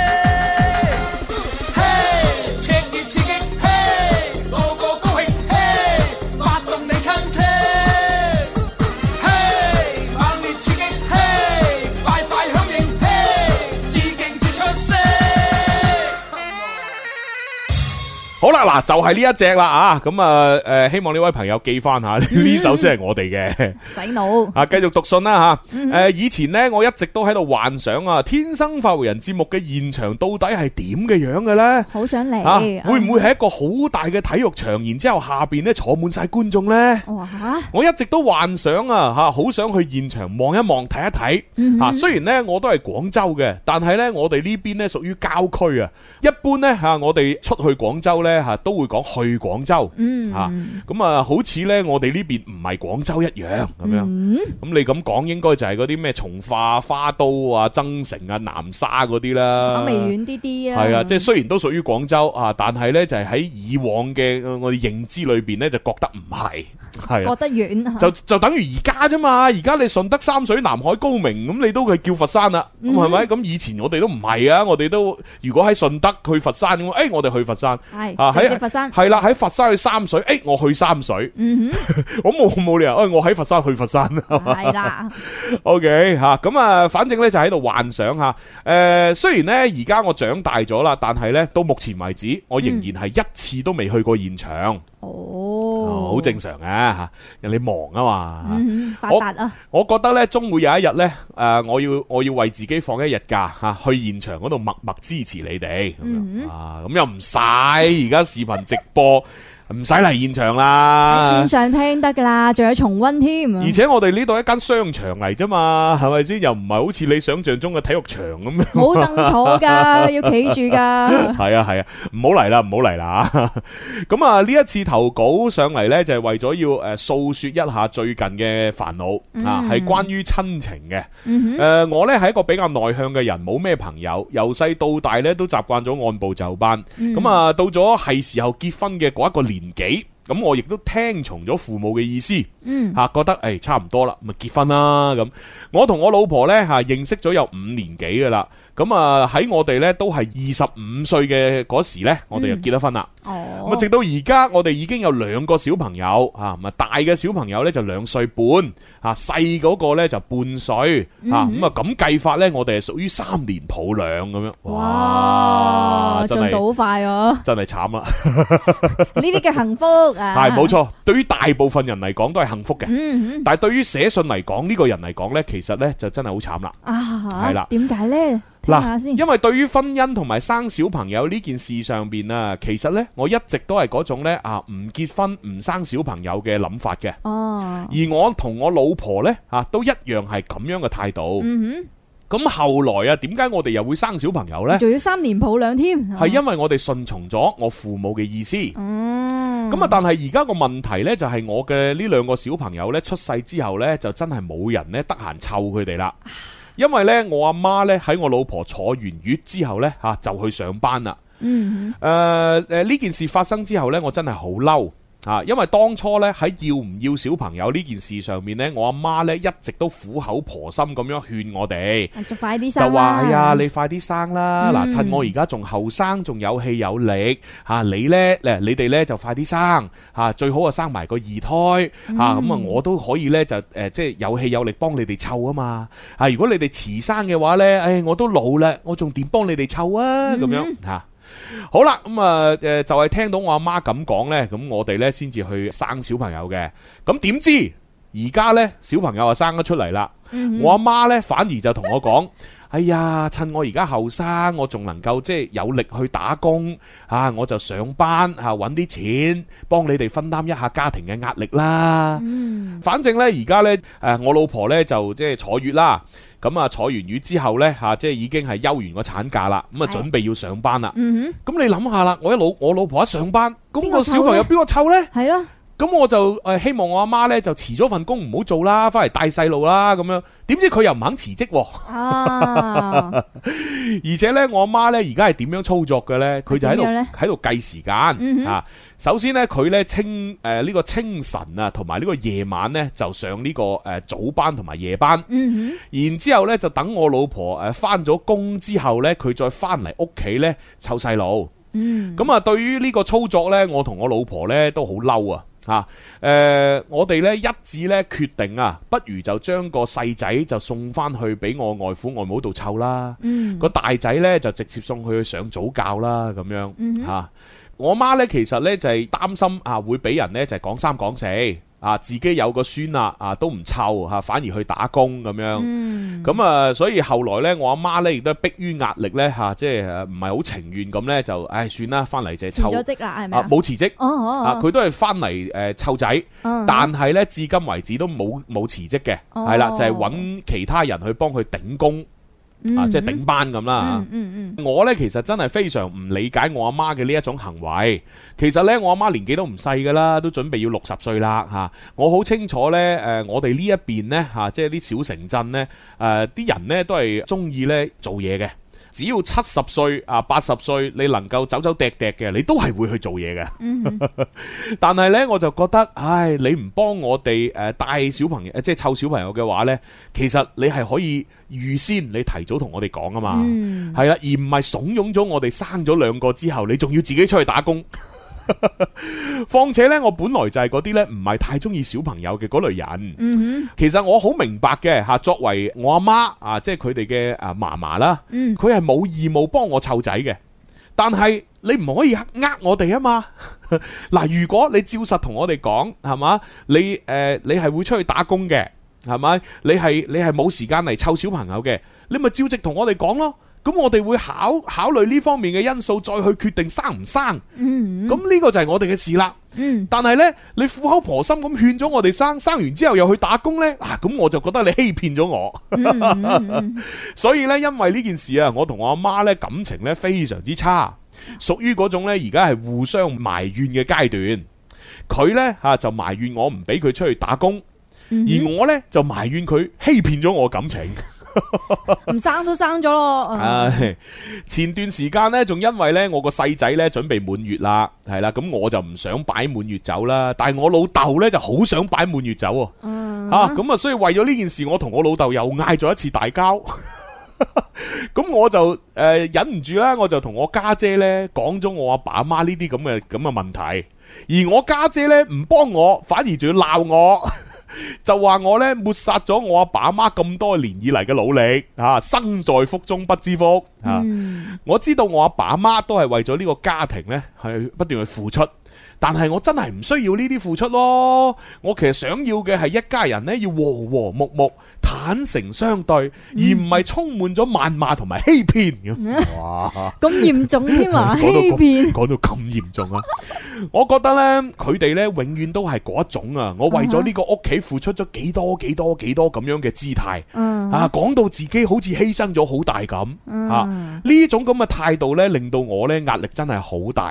好啦，嗱就係呢一隻啦啊，咁啊誒，希望呢位朋友記翻下呢首先係我哋嘅
洗腦
啊，繼續讀信啦吓。誒，以前呢，我一直都喺度幻想啊，天生快活人節目嘅現場到底係點嘅樣嘅咧？
好想嚟
啊，會唔會係一個好大嘅體育場，然之後下邊咧坐滿晒觀眾咧？
哇！
我一直都幻想啊吓，好想去現場望一望睇一睇吓。雖然咧我都係廣州嘅，但係咧我哋呢邊咧屬於郊區啊。一般咧吓，我哋出去廣州咧。吓都會講去廣州，吓咁啊，好似咧我哋呢邊唔係廣州一樣咁樣。咁、嗯、你咁講，應該就係嗰啲咩從化、花都啊、增城啊、南沙嗰啲啦，
稍微遠啲啲啊。
係啊，即係雖然都屬於廣州啊，但係咧就係喺以往嘅我哋認知裏邊咧，就覺得唔係。係
覺得遠，
就就等於而家啫嘛。而家你順德、三水、南海、高明，咁你都係叫佛山啦，咁係咪？咁以前我哋都唔係啊，我哋都如果喺順德去佛山咁，誒，我哋去佛山，
係啊，喺佛山，
係啦，喺佛山去三水，誒，我去三水，嗯哼，我冇冇理由，誒，我喺佛山去佛山，
係啦
，OK 吓，咁啊，反正咧就喺度幻想吓，誒，雖然咧而家我長大咗啦，但係咧到目前為止，我仍然係一次都未去過現場。哦，好正常嘅吓，人哋忙啊嘛，
嗯、發達啊！
我我覺得咧，終會有一日咧，誒、呃，我要我要為自己放一日假吓，去現場嗰度默默支持你哋咁、嗯、樣啊，咁又唔使而家視頻直播。唔使嚟現場啦，
喺線上聽得噶啦，仲有重溫添。
而且我哋呢度一間商場嚟啫嘛，係咪先？又唔係好似你想象中嘅體育場咁樣。
冇凳坐噶，要企住噶。
係啊係啊，唔好嚟啦，唔好嚟啦。咁啊，呢一次投稿上嚟呢，就係為咗要誒訴說一下最近嘅煩惱啊，係關於親情嘅。誒、嗯呃，我呢係一個比較內向嘅人，冇咩朋友，由細到大呢都習慣咗按部就班。咁、嗯、啊，到咗係時候結婚嘅嗰一個年紀，咁我亦都聽從咗父母嘅意思，嗯，吓覺得誒、哎、差唔多啦，咪結婚啦咁。我同我老婆呢，吓認識咗有五年幾噶啦，咁啊喺我哋呢都係二十五歲嘅嗰時呢，我哋就結咗婚啦。哦、嗯，咁啊直到而家我哋已經有兩個小朋友，吓咁啊大嘅小朋友呢就兩歲半，吓細嗰個呢就半歲，吓咁啊咁計法呢，我哋係屬於三年抱兩咁樣。哇，
進度好快啊！
真係慘啦，
呢啲叫幸福。
係冇錯，對於大部分人嚟講都係幸福嘅，嗯嗯、但係對於寫信嚟講呢個人嚟講呢，其實呢就真係好慘啦。啊，係啦，
點解呢？聽下先。
因為對於婚姻同埋生小朋友呢件事上邊啊，其實呢，我一直都係嗰種呢啊唔結婚唔生小朋友嘅諗法嘅。哦，而我同我老婆呢，啊都一樣係咁樣嘅態度。嗯哼。咁後來啊，點解我哋又會生小朋友呢？
仲要三年抱兩添，
係因為我哋順從咗我父母嘅意思。嗯， 咁啊，但係而家個問題呢，就係我嘅呢兩個小朋友呢，出世之後呢，就真係冇人呢得閒湊佢哋啦。因為呢，我阿媽呢，喺我老婆坐完月之後呢，吓就去上班啦。嗯，誒誒呢件事發生之後呢，我真係好嬲。啊，因為當初咧喺要唔要小朋友呢件事上面咧，我阿媽咧一直都苦口婆心咁樣勸我哋，
就快啲生啦，
就話哎呀，你快啲生啦！嗱、嗯，趁我而家仲後生，仲有氣有力，吓、啊、你咧，誒，你哋咧就快啲生，吓、啊、最好啊生埋個二胎，吓咁啊我都可以咧就誒、呃、即係有氣有力幫你哋湊啊嘛，啊如果你哋遲生嘅話咧，誒、哎、我都老啦，我仲點幫你哋湊啊？咁、嗯、樣吓。啊好啦，咁啊，誒，就係聽到我阿媽咁講呢，咁我哋呢先至去生小朋友嘅。咁點知而家呢，小朋友啊生咗出嚟啦，嗯、我阿媽呢反而就同我講：哎呀，趁我而家後生，我仲能夠即係有力去打工啊，我就上班啊，搵啲錢幫你哋分擔一下家庭嘅壓力啦。嗯、反正呢，而家呢，誒，我老婆呢就即係坐月啦。咁啊，坐完月之後呢，吓、啊、即係已經係休完個產假啦，咁啊準備要上班啦。咁、嗯、你諗下啦，我一老我老婆一上班，咁個小朋友邊個湊呢？係咯。咁我就誒、呃、希望我阿媽呢就辭咗份工唔好做啦，翻嚟帶細路啦咁樣。點知佢又唔肯辭職喎。啊！而且呢，我阿媽呢而家係點樣操作嘅呢？佢就喺度喺度計時間、嗯、啊。首先呢，佢呢清誒呢、呃這個清晨啊，同埋呢個夜晚呢，就上呢、這個誒、呃、早班同埋夜班。嗯、然之後呢就等我老婆誒翻咗工之後呢，佢再翻嚟屋企呢湊細路。嗯。咁啊，對於呢個操作呢，我同我老婆呢都好嬲啊！吓，誒、呃，我哋咧一致咧決定啊，不如就將個細仔就送翻去俾我外父外母度湊啦。嗯，個大仔咧就直接送佢去上早教啦，咁樣吓、嗯啊。我媽咧其實咧就係、是、擔心啊，會俾人咧就係、是、講三講四。啊，自己有個孫啦，啊都唔湊嚇，反而去打工咁樣。咁、嗯、啊，所以後來咧，我阿媽咧亦都迫於壓力咧嚇，即係唔係好情願咁咧，就唉算啦，翻嚟就係湊。辭咗職啦，係咪啊？冇辭職。哦哦哦。啊，佢都係翻嚟誒湊仔，哦、但係咧至今為止都冇冇辭職嘅，係、哦、啦，就係、是、揾其他人去幫佢頂工。嗯、啊，即係頂班咁啦。嗯嗯嗯、我呢其實真係非常唔理解我阿媽嘅呢一種行為。其實呢，我阿媽年紀都唔細噶啦，都準備要六十歲啦吓。我好清楚呢，誒、呃，我哋呢一邊呢，吓、啊，即係啲小城鎮呢，誒、呃，啲人呢都係中意呢做嘢嘅。只要七十歲啊八十歲，你能夠走走趯趯嘅，你都係會去做嘢嘅。嗯、但係呢，我就覺得，唉，你唔幫我哋誒帶小朋友，即係湊小朋友嘅話呢，其實你係可以預先，你提早同我哋講啊嘛，係啦、嗯，而唔係慫恿咗我哋生咗兩個之後，你仲要自己出去打工。況且咧，我本來就係嗰啲咧唔係太中意小朋友嘅嗰類人。嗯哼，其實我好明白嘅吓，作為我阿媽啊，即係佢哋嘅啊嫲嫲啦，佢係冇義務幫我湊仔嘅。但係你唔可以呃我哋啊嘛。嗱，如果你照實同我哋講，係嘛，你誒、呃、你係會出去打工嘅，係咪？你係你係冇時間嚟湊小朋友嘅，你咪照直同我哋講咯。咁我哋會考考慮呢方面嘅因素，再去決定生唔生。嗯，咁呢個就係我哋嘅事啦。嗯，但係呢，你苦口婆心咁勸咗我哋生，生完之後又去打工呢，啊，咁我就覺得你欺騙咗我。嗯、所以呢，因為呢件事啊，我同我阿媽呢感情呢非常之差，屬於嗰種呢而家係互相埋怨嘅階段。佢呢，吓、啊、就埋怨我唔俾佢出去打工，嗯、而我呢，就埋怨佢欺騙咗我感情。
唔生都生咗咯。
唉，前段時間呢，仲因為呢我個細仔呢準備滿月啦，係啦，咁我就唔想擺滿月酒啦，但係我老豆呢就好想擺滿月酒。嗯，吓咁啊，所以為咗呢件事，我同我老豆又嗌咗一次大交。咁我就誒、呃、忍唔住啦，我就同我家姐呢講咗我阿爸阿媽呢啲咁嘅咁嘅問題，而我家姐呢唔幫我，反而仲要鬧我。就話我咧抹殺咗我阿爸阿媽咁多年以嚟嘅努力，吓生在福中不知福。吓、嗯，我知道我阿爸阿媽都係為咗呢個家庭咧，係不斷去付出。但係我真係唔需要呢啲付出咯，我其實想要嘅係一家人咧要和和睦睦、坦誠相對，嗯、而唔係充滿咗謾罵同埋欺騙咁。哇，咁嚴重添啊！欺騙講到咁嚴重啊！我覺得呢，佢哋呢永遠都係嗰一種啊！我為咗呢個屋企付出咗幾多幾多幾多咁樣嘅姿態，嗯、啊，講到自己好似犧牲咗好大咁，嗯、啊，呢種咁嘅態度呢，令到我呢壓力真係好大。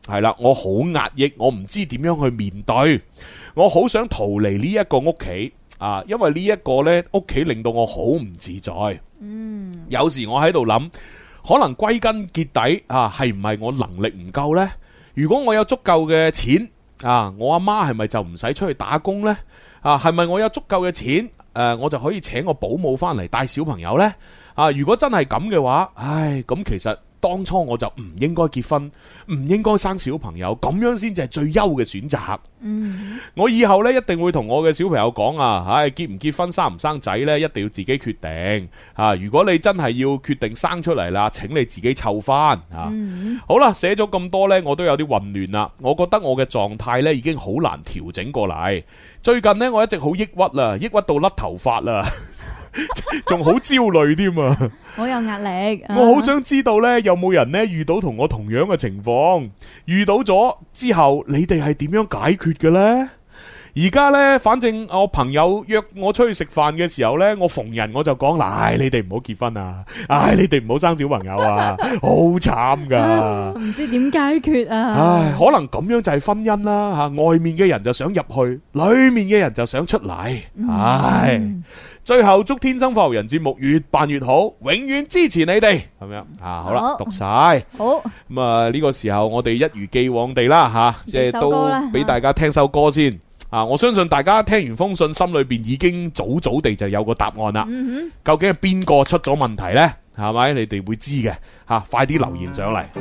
係啦，我好壓抑，我唔知點樣去面對，我好想逃離呢一個屋企啊，因為呢一個呢屋企令到我好唔自在。嗯，有時我喺度諗，可能歸根結底啊，係唔係我能力唔夠呢？如果我有足夠嘅錢啊，我阿媽係咪就唔使出去打工呢？啊，係咪我有足夠嘅錢誒、啊，我就可以請個保姆翻嚟帶小朋友呢？啊，如果真係咁嘅話，唉，咁其實當初我就唔應該結婚，唔應該生小朋友，咁樣先至係最優嘅選擇。嗯，我以後呢，一定會同我嘅小朋友講啊，唉，結唔結婚生唔生仔呢，一定要自己決定啊！如果你真係要決定生出嚟啦，請你自己湊翻啊！嗯、好啦，寫咗咁多呢，我都有啲混亂啦。我覺得我嘅狀態呢已經好難調整過嚟。最近呢，我一直好抑鬱啦，抑鬱到甩頭髮啦。仲好焦慮添啊！
好有壓力。
我好想知道呢，有冇人呢遇到同我同樣嘅情況？遇到咗之後，你哋係點樣解決嘅呢？而家呢，反正我朋友約我出去食飯嘅時候呢，我逢人我就講：唉，你哋唔好結婚啊！唉，你哋唔好生小朋友啊！好慘噶，
唔知點解決啊！
唉，可能咁樣就係婚姻啦吓，外面嘅人就想入去，裏面嘅人就想出嚟。唉。嗯，最後祝天生發育人節目越辦越好，永遠支持你哋，咁樣啊！好啦，好讀晒好咁啊！呢個時候我哋一如既往地啦吓，即係都俾大家聽首歌先啊！我相信大家聽完封信，心裏邊已經早早地就有個答案啦。嗯哼，究竟係邊個出咗問題呢？係咪？你哋會知嘅吓，快啲留言上嚟。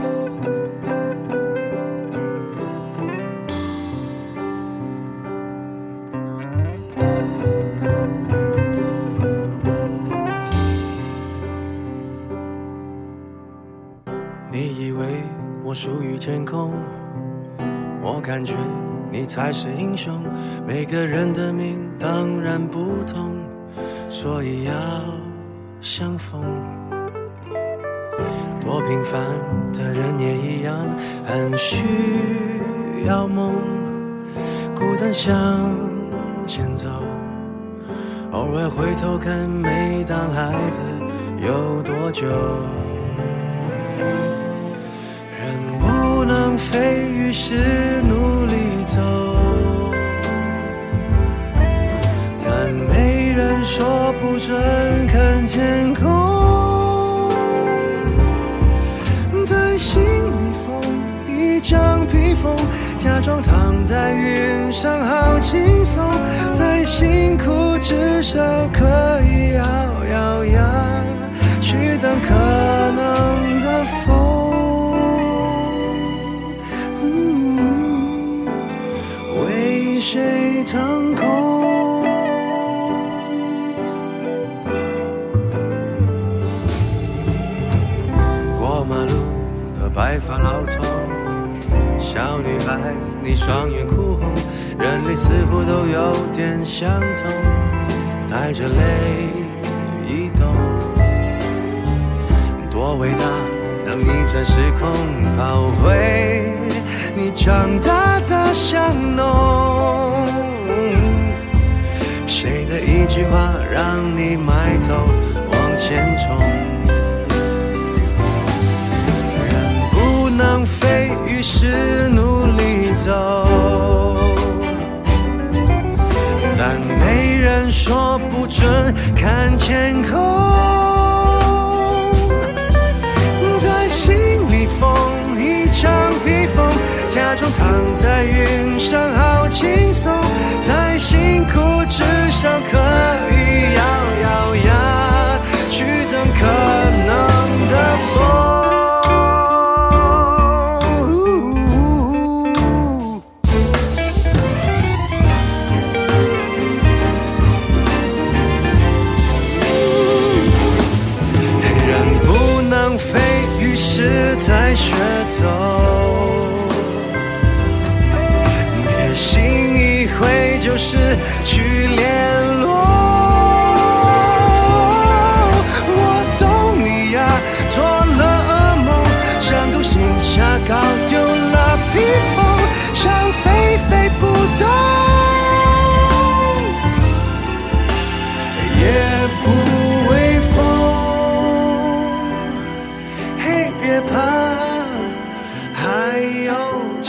你以為我屬於天空，我感覺你才是英雄。每個人的命當然不同，所以要相逢。多平凡的人也一樣，很需要夢，孤單向前走，偶爾回頭看，每當孩子有多久。人不能飛，於是努力走，但沒人說不准看天空。在心裡縫一張披風，假裝躺在雲上好輕鬆，再辛苦至少可以咬咬牙去等可能的風。誰騰空？過馬路的白髮老頭，小女孩你雙眼哭紅，人類似乎都有點相同，帶着淚移動，多偉大能逆轉時空，跑回你長大的巷弄。誰的一句話讓你埋頭往前衝？人不能飛，於是努力走，但沒人說不准看天空。在心裡縫一張披風，假裝躺在雲上好輕鬆，再辛苦至少可以咬咬牙去等可能的風。人不能飛，於是才學走，別心一回就是去聯絡。我懂你呀，做了噩夢，像獨行俠搞丟了披風，想飛飛不動，也不畏風。嘿，別怕，還有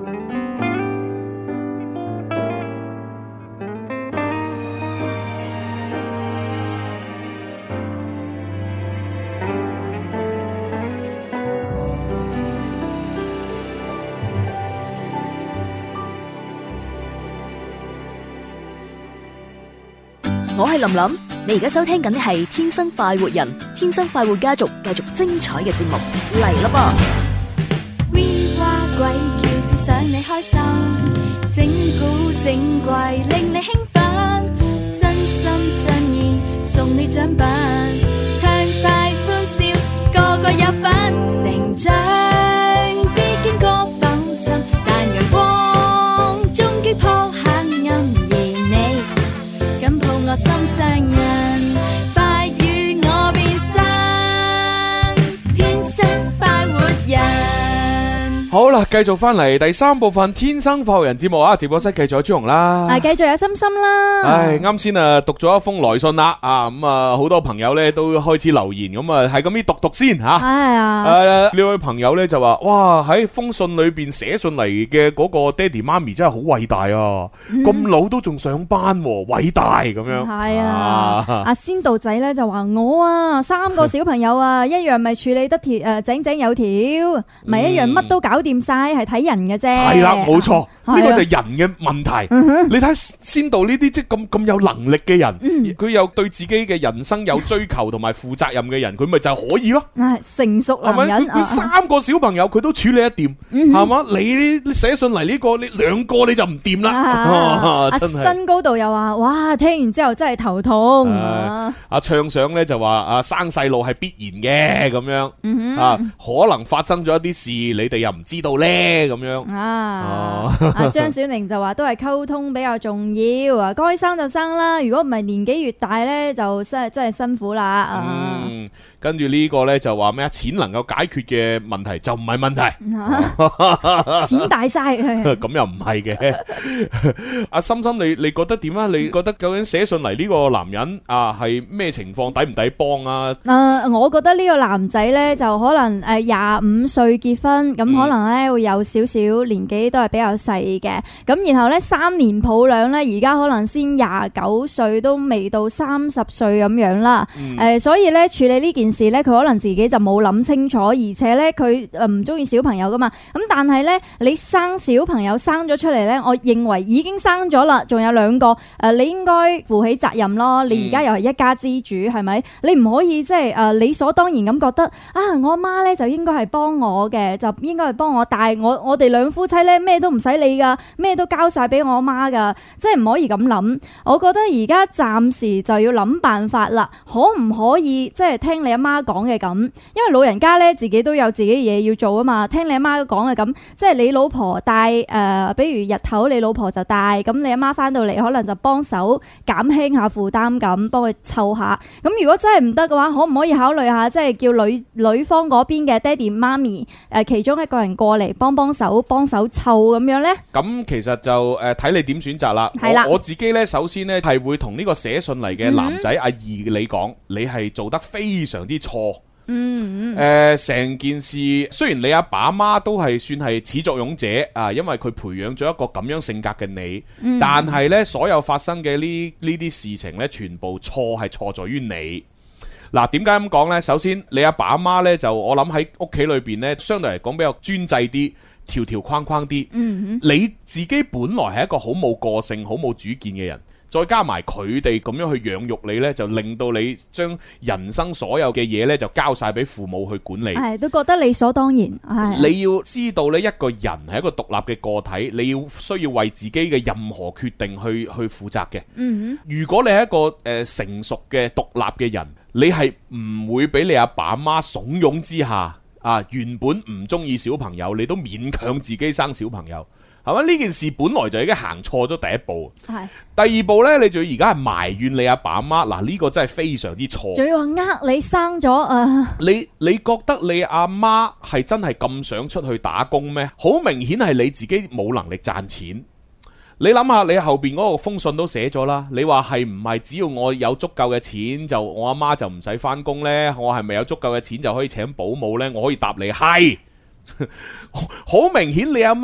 我係林林，你而家收聽緊嘅係《天生快活人》，天生快活家族繼續精彩嘅節目嚟啦噃。
We 話鬼叫，只想你開心，整蠱整怪令你興奮，真心真意送你獎品，暢快歡笑，個個有份成長，必經過浮沉，但陽光終擊破黑暗，而你緊抱我心上人，快與我變身，天生快活人。
好啦，繼續翻嚟第三部分《天生快活人》節目啊！直播室繼續有朱紅啦，
啊，繼續有心心啦。
唉，啱先啊，讀咗一封來信啦，啊，咁啊，好多朋友咧都開始留言，咁啊，係咁啲讀讀先吓。係
啊，
誒，呢位朋友咧就話：，哇，喺封信裏邊寫信嚟嘅嗰個爹哋媽咪真係好偉大啊！咁老都仲上班，偉大咁樣。
係啊，阿仙道仔咧就話：我啊，三個小朋友啊，一樣咪處理得條誒井井有條，咪一樣乜都搞掂晒，係睇人嘅啫。
係啦，冇錯，呢個就係人嘅問題。你睇仙道呢啲即係咁咁有能力嘅人，佢又對自己嘅人生有追求同埋負責任嘅人，佢咪就可以咯。
成熟男人，
佢三個小朋友佢都處理得掂，係嘛？你你寫信嚟呢個，你兩個你就唔掂啦。
阿新高度又話：，哇，聽完之後真係頭痛。
阿暢想咧就話：，阿生細路係必然嘅咁樣，啊，可能發生咗一啲事，你哋又唔知道咧咁樣。
啊，阿張小寧就話都係溝通比較重要啊，該生就生啦，如果唔係年紀越大咧，就真係真係辛苦啦。
嗯，跟住呢個咧就話咩啊？錢能夠解決嘅問題就唔係問題，
錢大晒，
咁又唔係嘅。阿心心，你你覺得點啊？你覺得究竟寫信嚟呢個男人啊係咩情況，抵唔抵幫啊？
誒，我覺得呢個男仔咧就可能誒廿五歲結婚，咁可能咧會有少少年紀都係比較細嘅，咁然後咧三年抱兩咧，而家可能先廿九歲都未到三十歲咁樣啦。誒，所以咧處理呢件事咧，佢可能自己就冇諗清楚，而且咧佢誒唔中意小朋友噶嘛。咁但係咧，你生小朋友生咗出嚟咧，我認為已經生咗啦，仲有兩個誒，你應該負起責任咯。你而家又係一家之主，係咪？你唔可以即係誒理所當然咁覺得啊，我阿媽咧就應該係幫我嘅，就應該係幫我帶我。我哋兩夫妻咧咩都唔使理噶，咩都交晒俾我阿媽噶，即係唔可以咁諗。我覺得而家暫時就要諗辦法啦，可唔可以即係聽你阿媽講嘅咁？因為老人家咧自己都有自己嘢要做啊嘛，聽你阿媽講嘅咁，即係你老婆帶誒、呃，比如日頭你老婆就帶，咁你阿媽翻到嚟可能就幫手減輕下負擔咁，幫佢湊下。咁如果真係唔得嘅話，可唔可以考慮下即係叫女女方嗰邊嘅爹哋媽咪誒其中一個人過嚟幫幫手幫手湊咁樣呢？咁
其實就誒睇、呃、你點選擇啦。
係啦，
我自己呢，首先呢係會同呢個寫信嚟嘅男仔、嗯、阿義你講，你係做得非常之錯。嗯，誒、呃，成件事雖然你阿爸阿媽都係算係始作俑者啊，因為佢培養咗一個咁樣性格嘅你，嗯、但係呢，所有發生嘅呢呢啲事情呢，全部錯係錯在於你。嗱，點解咁講呢？首先，你阿爸阿媽呢，就我諗喺屋企裏邊呢，相對嚟講比較專制啲。條條框框啲，嗯、你自己本來係一個好冇個性、好冇主見嘅人，再加埋佢哋咁樣去養育你呢，就令到你將人生所有嘅嘢呢，就交晒俾父母去管理，
係都覺得理所當然。係
你要知道呢，一個人係一個獨立嘅個體，你要需要為自己嘅任何決定去去負責嘅。嗯、如果你係一個誒、呃、成熟嘅獨立嘅人，你係唔會俾你阿爸阿媽慫恿之下。啊！原本唔中意小朋友，你都勉強自己生小朋友，係咪？呢件事本來就已經行錯咗第一步。係第二步呢，你仲要而家係埋怨你阿爸阿媽，嗱、啊、呢、呢個真係非常之錯。仲要話呃你生咗啊！你你覺得你阿媽係真係咁想出去打工咩？好明顯係你自己冇能力賺錢。你諗下，你後邊嗰個封信都寫咗啦。你話係唔係只要我有足夠嘅錢，就我阿媽就唔使翻工呢？我係咪有足夠嘅錢就可以請保姆呢？我可以答你係。好明顯，你阿媽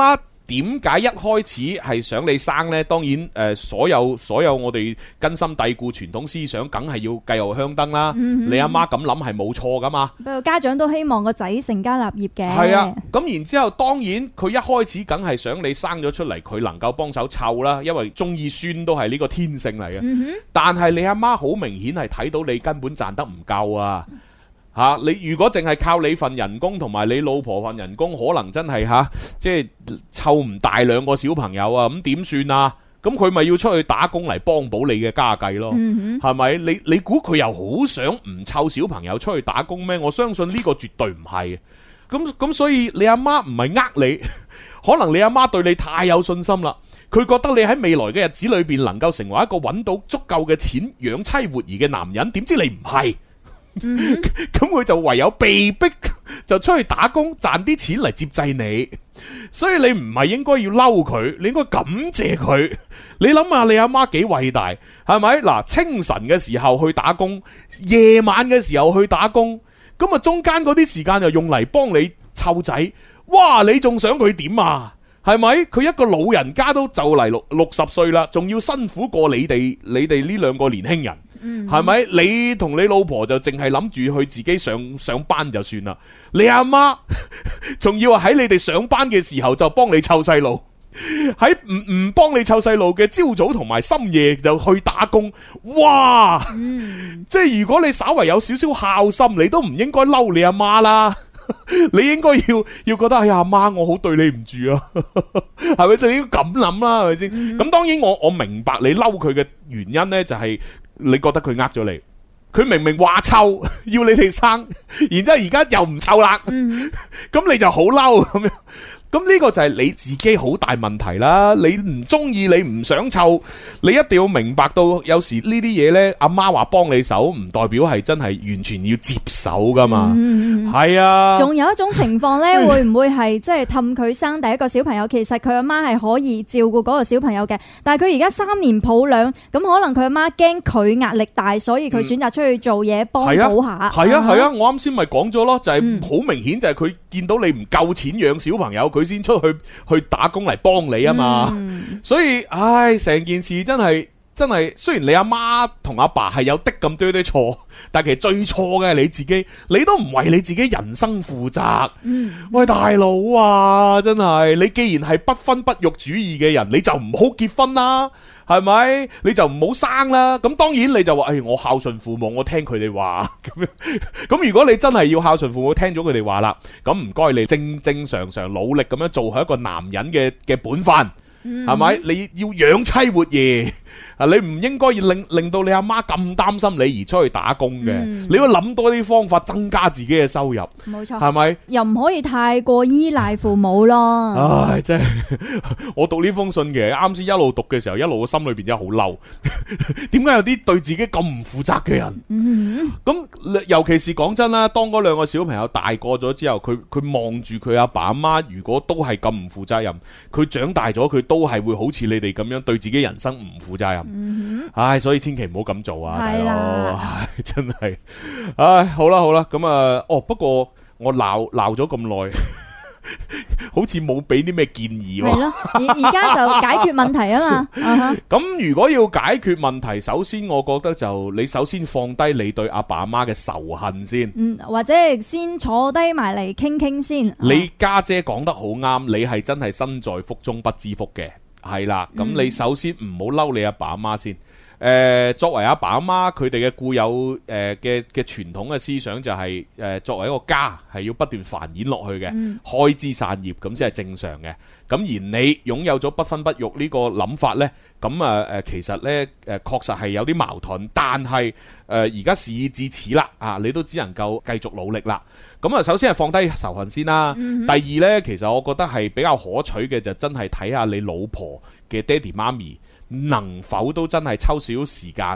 點解一開始係想你生呢？當然誒、呃，所有所有我哋根深蒂固傳統思想，梗係要繼後香燈啦。嗯、哼你阿媽咁諗係冇錯噶嘛？
不過家長都希望個仔成家立業嘅。
係啊，咁然之後當然佢一開始梗係想你生咗出嚟，佢能夠幫手湊啦，因為中意孫都係呢個天性嚟嘅。嗯、哼但係你阿媽好明顯係睇到你根本賺得唔夠啊！吓、啊、你如果淨係靠你份人工同埋你老婆份人工，可能真係吓、啊、即係湊唔大兩個小朋友啊，咁點算啊？咁佢咪要出去打工嚟幫補你嘅家計咯？係咪、嗯哼？你你估佢又好想唔湊小朋友出去打工咩？我相信呢個絕對唔係。咁咁所以你阿媽唔係呃你，可能你阿媽對你太有信心啦，佢覺得你喺未來嘅日子裏邊能夠成為一個揾到足夠嘅錢養妻活兒嘅男人，點知你唔係？咁佢就唯有被逼就出去打工賺啲錢嚟接濟你，所以你唔係應該要嬲佢，你應該感謝佢。你諗下你阿媽幾偉大，係咪？嗱，清晨嘅時候去打工，夜晚嘅時候去打工，咁啊中間嗰啲時間就用嚟幫你湊仔，哇！你仲想佢點啊？係咪？佢一個老人家都就嚟六六十歲啦，仲要辛苦過你哋你哋呢兩個年輕人。係咪、嗯？你同你老婆就淨係諗住去自己上上班就算啦。你阿媽仲要喺你哋上班嘅時候就幫你湊細路，喺唔唔幫你湊細路嘅朝早同埋深夜就去打工。哇！嗯、即係如果你稍為有少少孝心，你都唔應該嬲你阿媽啦。你應該要要覺得哎呀阿媽，我好對你唔住啊，係咪？你應該咁諗啦，係咪先？咁、嗯、當然我我明白你嬲佢嘅原因呢，就係、是。你覺得佢呃咗你？佢明明話湊要你哋生，然之後而家又唔湊啦，咁、嗯、你就好嬲咁樣。咁呢個就係你自己好大問題啦！你唔中意，你唔想湊，你一定要明白到，有時呢啲嘢呢，阿媽話幫你手，唔代表係真係完全要接手噶嘛。係、嗯、啊。仲有一種情況呢，會唔會係即係氹佢生第一個小朋友？其實佢阿媽係可以照顧嗰個小朋友嘅，但係佢而家三年抱兩，咁可能佢阿媽驚佢壓力大，所以佢選擇出去做嘢幫補下。係啊係啊，啊，我啱先咪講咗咯，就係、是、好明顯就係佢見到你唔夠錢養小朋友，佢先出去去打工嚟幫你啊嘛，嗯、所以唉，成件事真係真係，雖然你阿媽同阿爸係有啲咁多啲錯，但其實最錯嘅係你自己，你都唔為你自己人生負責。嗯、喂，大佬啊，真係你既然係不婚不育主義嘅人，你就唔好結婚啦。係咪？你就唔好生啦。咁當然你就話，誒、哎，我孝順父母，我聽佢哋話咁樣。咁如果你真係要孝順父母，聽咗佢哋話啦，咁唔該你正正常常努力咁樣做好一個男人嘅嘅本分，係咪、嗯？你要養妻活兒。啊！你唔應該要令令到你阿媽咁擔心你而出去打工嘅，嗯、你要諗多啲方法增加自己嘅收入。冇錯，係咪？又唔可以太過依賴父母咯。唉，真係我讀呢封信嘅，啱先一路讀嘅時候，一路個心裏邊真係好嬲。點解有啲對自己咁唔負責嘅人？咁、嗯、尤其是講真啦，當嗰兩個小朋友大個咗之後，佢佢望住佢阿爸阿媽，如果都係咁唔負責任，佢長大咗，佢都係會好似你哋咁樣對自己人生唔負責任。嗯、唉，所以千祈唔好咁做啊，大佬，唉，真係，唉，好啦好啦，咁啊，哦，不過我鬧鬧咗咁耐，好似冇俾啲咩建議喎。係咯，而而家就解決問題啊嘛。咁、uh-huh. 如果要解決問題，首先我覺得就你首先放低你對阿爸阿媽嘅仇恨先，嗯，或者先坐低埋嚟傾傾先。你家姐講得好啱，你係真係身在福中不知福嘅。係啦，咁你首先唔好嬲你阿爸阿媽先。誒、呃，作為阿爸阿媽，佢哋嘅固有誒嘅嘅傳統嘅思想就係、是、誒、呃，作為一個家係要不斷繁衍落去嘅，嗯、開枝散葉咁先係正常嘅。咁而你擁有咗不婚不育呢個諗法呢，咁啊誒，其實呢，誒、呃、確實係有啲矛盾，但係誒而家事已至此啦，啊，你都只能夠繼續努力啦。咁啊，首先係放低仇恨先啦。嗯、哼第二呢，其實我覺得係比較可取嘅就真係睇下你老婆嘅爹哋媽咪能否都真係抽少少時間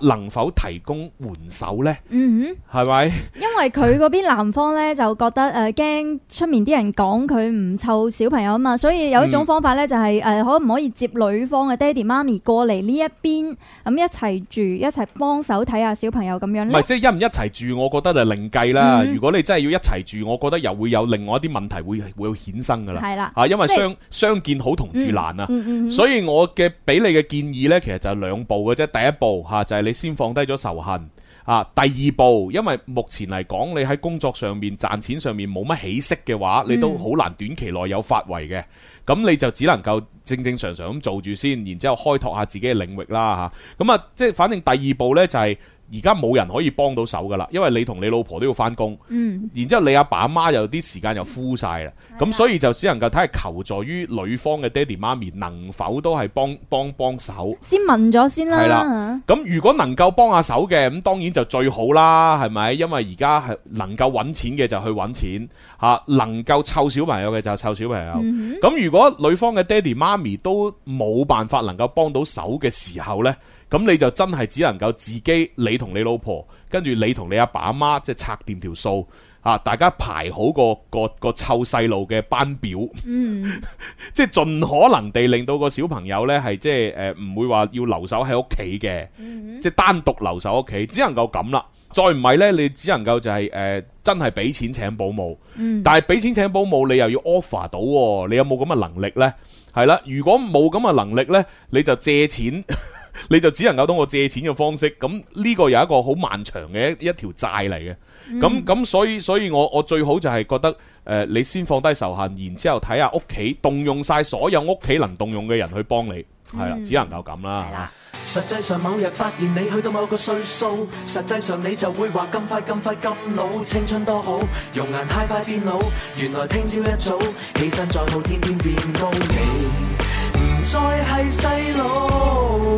能否提供援手呢？
嗯
哼，係咪？
因為佢嗰邊男方呢，就覺得誒驚出面啲人講佢唔湊小朋友啊嘛，所以有一種方法呢，就係誒可唔可以接女方嘅爹哋媽咪過嚟呢一邊，咁一齊住，一齊幫手睇下小朋友咁樣呢？
唔係，即係一唔一齊住，我覺得就另計啦。
嗯、
如果你真係要一齊住，我覺得又會有另外一啲問題會會衍生噶啦。
係啦，
啊，因為
即係
相相見好同住難啊。
嗯嗯嗯、
所以我嘅俾你嘅建議呢，其實就係兩步嘅啫。第一步嚇、啊、就係、是、你先放低咗仇恨啊。第二步，因為目前嚟講，你喺工作上面賺錢上面冇乜起色嘅話，你都好難短期內有發圍嘅。咁你就只能夠正正常常咁做住先，然之後開拓下自己嘅領域啦嚇。咁啊，即係反正第二步呢，就係、是。而家冇人可以幫到手噶啦，因為你同你老婆都要翻工，嗯，然之後你阿爸阿媽又啲時間又枯晒啦，咁、嗯、所以就只能夠睇下求助於女方嘅爹哋媽咪能否都係幫幫幫手。
先問咗先啦。
係啦，咁如果能夠幫下手嘅，咁當然就最好啦，係咪？因為而家係能夠揾錢嘅就去揾錢，嚇、啊、能夠湊小朋友嘅就湊小朋友。咁、嗯、如果女方嘅爹哋媽咪都冇辦法能夠幫到手嘅時候呢，咁你就真係只能夠自己，你同你老婆，跟住你同你阿爸阿媽，即係拆掂條數啊！大家排好個個個湊細路嘅班表，嗯，即係盡可能地令到個小朋友呢係即係誒唔會話要留守喺屋企嘅，嗯、即係單獨留守屋企，只能夠咁啦。再唔係呢，你只能夠就係、是、誒、呃、真係俾錢請保姆，嗯、但係俾錢請保姆，你又要 offer 到、哦，你有冇咁嘅能力呢？係啦，如果冇咁嘅能力呢，你就借錢。你就只能夠通過借錢嘅方式，咁呢個有一個好漫長嘅一一條債嚟嘅，咁咁、嗯、所以所以我我最好就係覺得誒、呃，你先放低仇恨，然之後睇下屋企動用晒所有屋企能動用嘅人去幫你，係啦、嗯，只能夠咁啦。
實際上某日發現你去到某個歲數，實際上你就會話咁快咁快咁老，青春多好，容顏太快變老，原來聽朝一早起身再冇天天變高，你唔再係細路。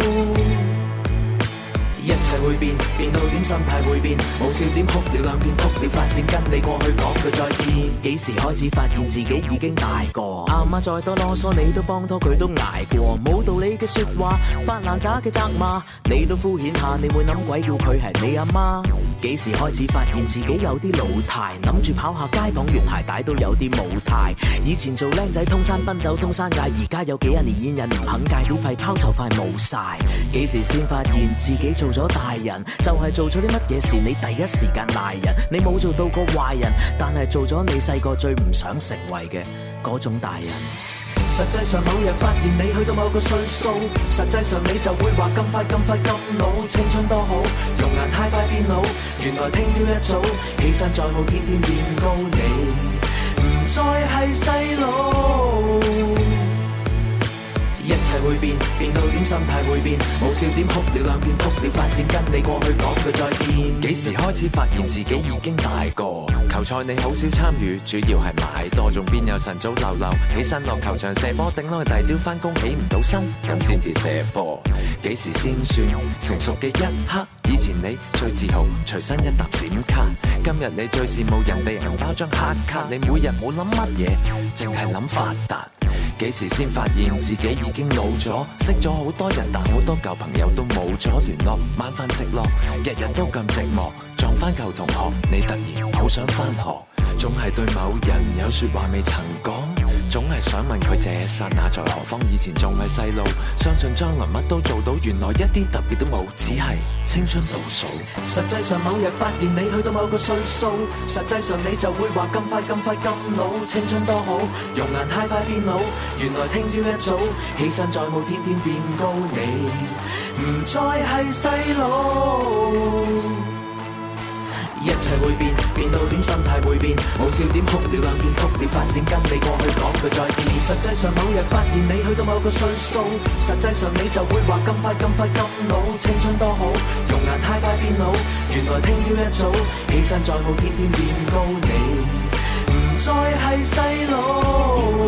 一切會變，變到點心態會變，無笑點哭了兩遍，哭了發線跟你過去講句再見。幾時開始發現自己已經大個？阿媽再多囉嗦，你都幫拖佢都捱過。冇道理嘅説話，發爛渣嘅責罵，你都敷衍下，你會諗鬼叫佢係你阿媽？幾時開始發現自己有啲老態，諗住跑下街綁完鞋帶都有啲冇態。以前做僆仔通山奔走通山界，而家有幾廿年煙癮唔肯戒啲肺泡就快冇晒。幾時先發現自己做咗大人，就係、是、做咗啲乜嘢事你第一時間賴人。你冇做到個壞人，但係做咗你細個最唔想成為嘅嗰種大人。實際上某日發現你去到某個歲數，實際上你就會話咁快咁快咁老，青春多好，容顏太快變老，原來聽朝一早起身再冇天天變高，你唔再係細路。一切會變，變到點心態會變，冇笑點哭了兩遍，哭了發線跟你過去講句再見。
幾時開始發現自己已經大個？球賽你好少參與，主要係買多，仲邊有晨早流流起身落球場射波，頂耐第朝翻工起唔到身，咁先至射波。幾時先算成熟嘅一刻？以前你最自豪隨身一沓閃卡，今日你最羨慕人哋銀包張黑卡，你每日冇諗乜嘢，淨係諗發達。幾時先發現自己已經老咗？識咗好多人，但好多舊朋友都冇咗聯絡，晚飯直落，日日都咁寂寞。撞翻舊同學，你突然好想翻學，總係對某人有說話未曾講，總係想問佢這剎那在何方？以前仲係細路，相信將來乜都做到，原來一啲特別都冇，只係青春倒數。
實際上某日發現你去到某個歲數，實際上你就會話咁快咁快咁老，青春多好，容顏太快變老，原來聽朝一早起身再冇天天變高，你唔再係細路。一切會變，變到點心態會變，冇笑點哭了兩遍，哭了發線跟你過去講句再見。實際上某日發現你去到某個歲數，實際上你就會話咁快咁快咁老，青春多好，容顏太快變老，原來聽朝一早起身再冇天天變高，你唔再係細路，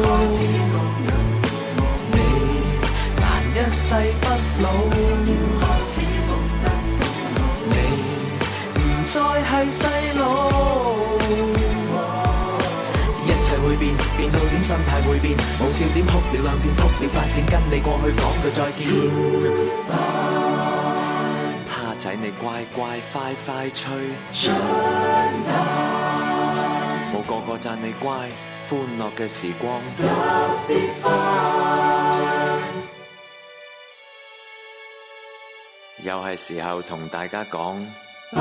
你難一世不老，再係細路，一切會變，變到點心態會變，冇笑點哭了兩遍，哭了發線跟你過去講句再見。
拍仔你乖乖快快吹
春來，
冇個個讚你乖，歡樂嘅時光
特別快。
又係時候同大家講
拜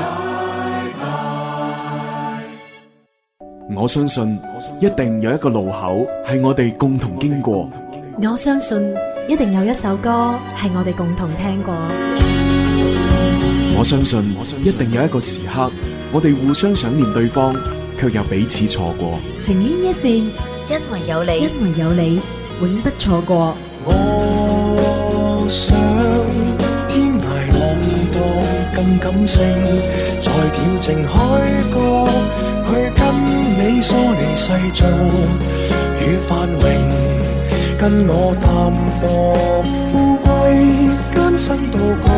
拜。
我相信一定有一個路口係我哋共同經過。
我相信一定有一首歌係我哋共同聽過。
我相信一定有一個時刻，我哋互相想念對方，卻又彼此錯過。
情牽一線，因為有你，因為有你，永不錯過。
我想天涯浪蕩更感性，在恬靜海角去跟你疏離世俗與繁榮。跟我淡薄富貴，艱辛到高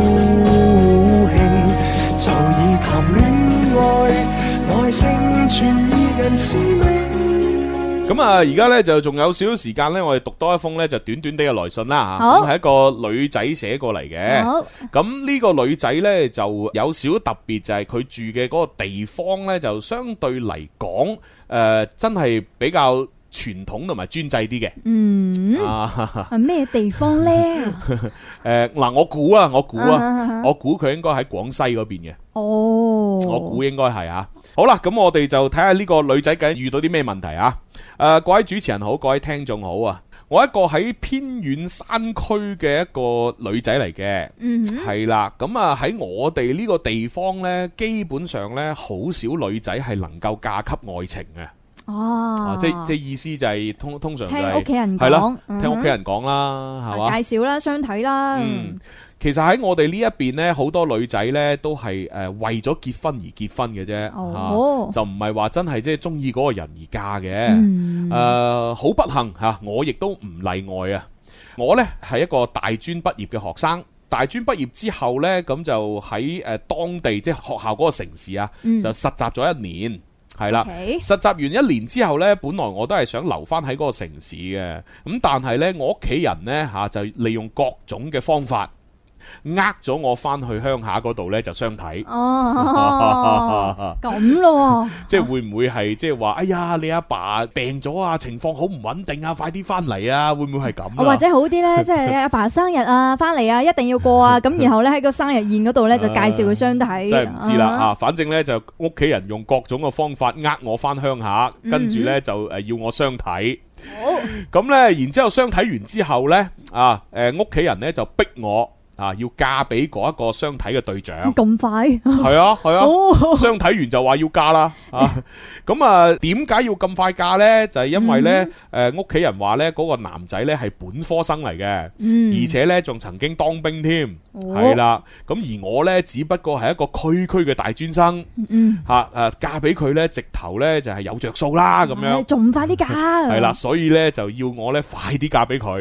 興，就以談戀愛，耐性全二人使命。
咁啊，而家呢就仲有少少時間呢，我哋讀多一封呢就短短啲嘅來信啦吓。咁係一個女仔寫過嚟嘅。好。咁呢個女仔呢就有少少特別，就係佢住嘅嗰個地方呢，就相對嚟講，誒，真係比較傳統同埋專制啲嘅。
嗯，
啊，
係咩地方呢？
誒，嗱，我估啊，我估啊，我估佢應該喺廣西嗰邊嘅。
哦，
我估應該係啊。好啦，咁我哋就睇下呢個女仔究竟遇到啲咩問題啊。誒，各位主持人好，各位聽眾好啊。我一個喺偏遠山區嘅一個女仔嚟嘅，嗯，係啦。咁啊喺我哋呢個地方呢，基本上呢，好少女仔係能夠嫁給愛情嘅。哦，即即意思就係通通常就係
聽屋企人講，
係啦，聽屋企人講啦，係嘛，
介紹啦，相睇啦。
嗯，其實喺我哋呢一邊呢，好多女仔呢都係誒為咗結婚而結婚嘅啫，哦，就唔係話真係即係中意嗰個人而嫁嘅。誒，好不幸吓，我亦都唔例外啊。我呢係一個大專畢業嘅學生，大專畢業之後呢，咁就喺誒當地即係學校嗰個城市啊，就實習咗一年。係啦，okay. 實習完一年之後呢，本來我都係想留翻喺嗰個城市嘅，咁但係呢，我屋企人呢，吓、啊、就利用各種嘅方法，呃咗我翻去鄉下嗰度呢，就相睇。哦，
咁咯，
即係會唔會係即係話，哎呀，你阿爸，爸病咗啊，情況好唔穩定啊，快啲翻嚟啊，會唔會係咁啊？
或者好啲呢，即係阿爸生日啊，翻嚟啊，一定要過啊，咁然後呢，喺個生日宴嗰度呢，就介紹佢相睇。
真係唔知啦啊，反正呢，就屋企人用各種嘅方法呃我翻鄉下，跟住呢，就誒要我相睇。好，咁呢，然之後相睇完之後呢，啊誒屋企人呢，就逼我。啊！要嫁俾嗰一個相睇嘅對象，
咁快？
係啊係啊，相睇完就話要嫁啦啊！咁啊，點解要咁快嫁呢？就係因為呢，誒屋企人話呢，嗰個男仔呢係本科生嚟嘅，而且呢仲曾經當兵添，係啦。咁而我呢，只不過係一個區區嘅大專生，吓誒嫁俾佢呢，直頭呢就係有着數啦咁樣，
仲快啲嫁
係啦，所以呢，就要我呢快啲嫁俾佢，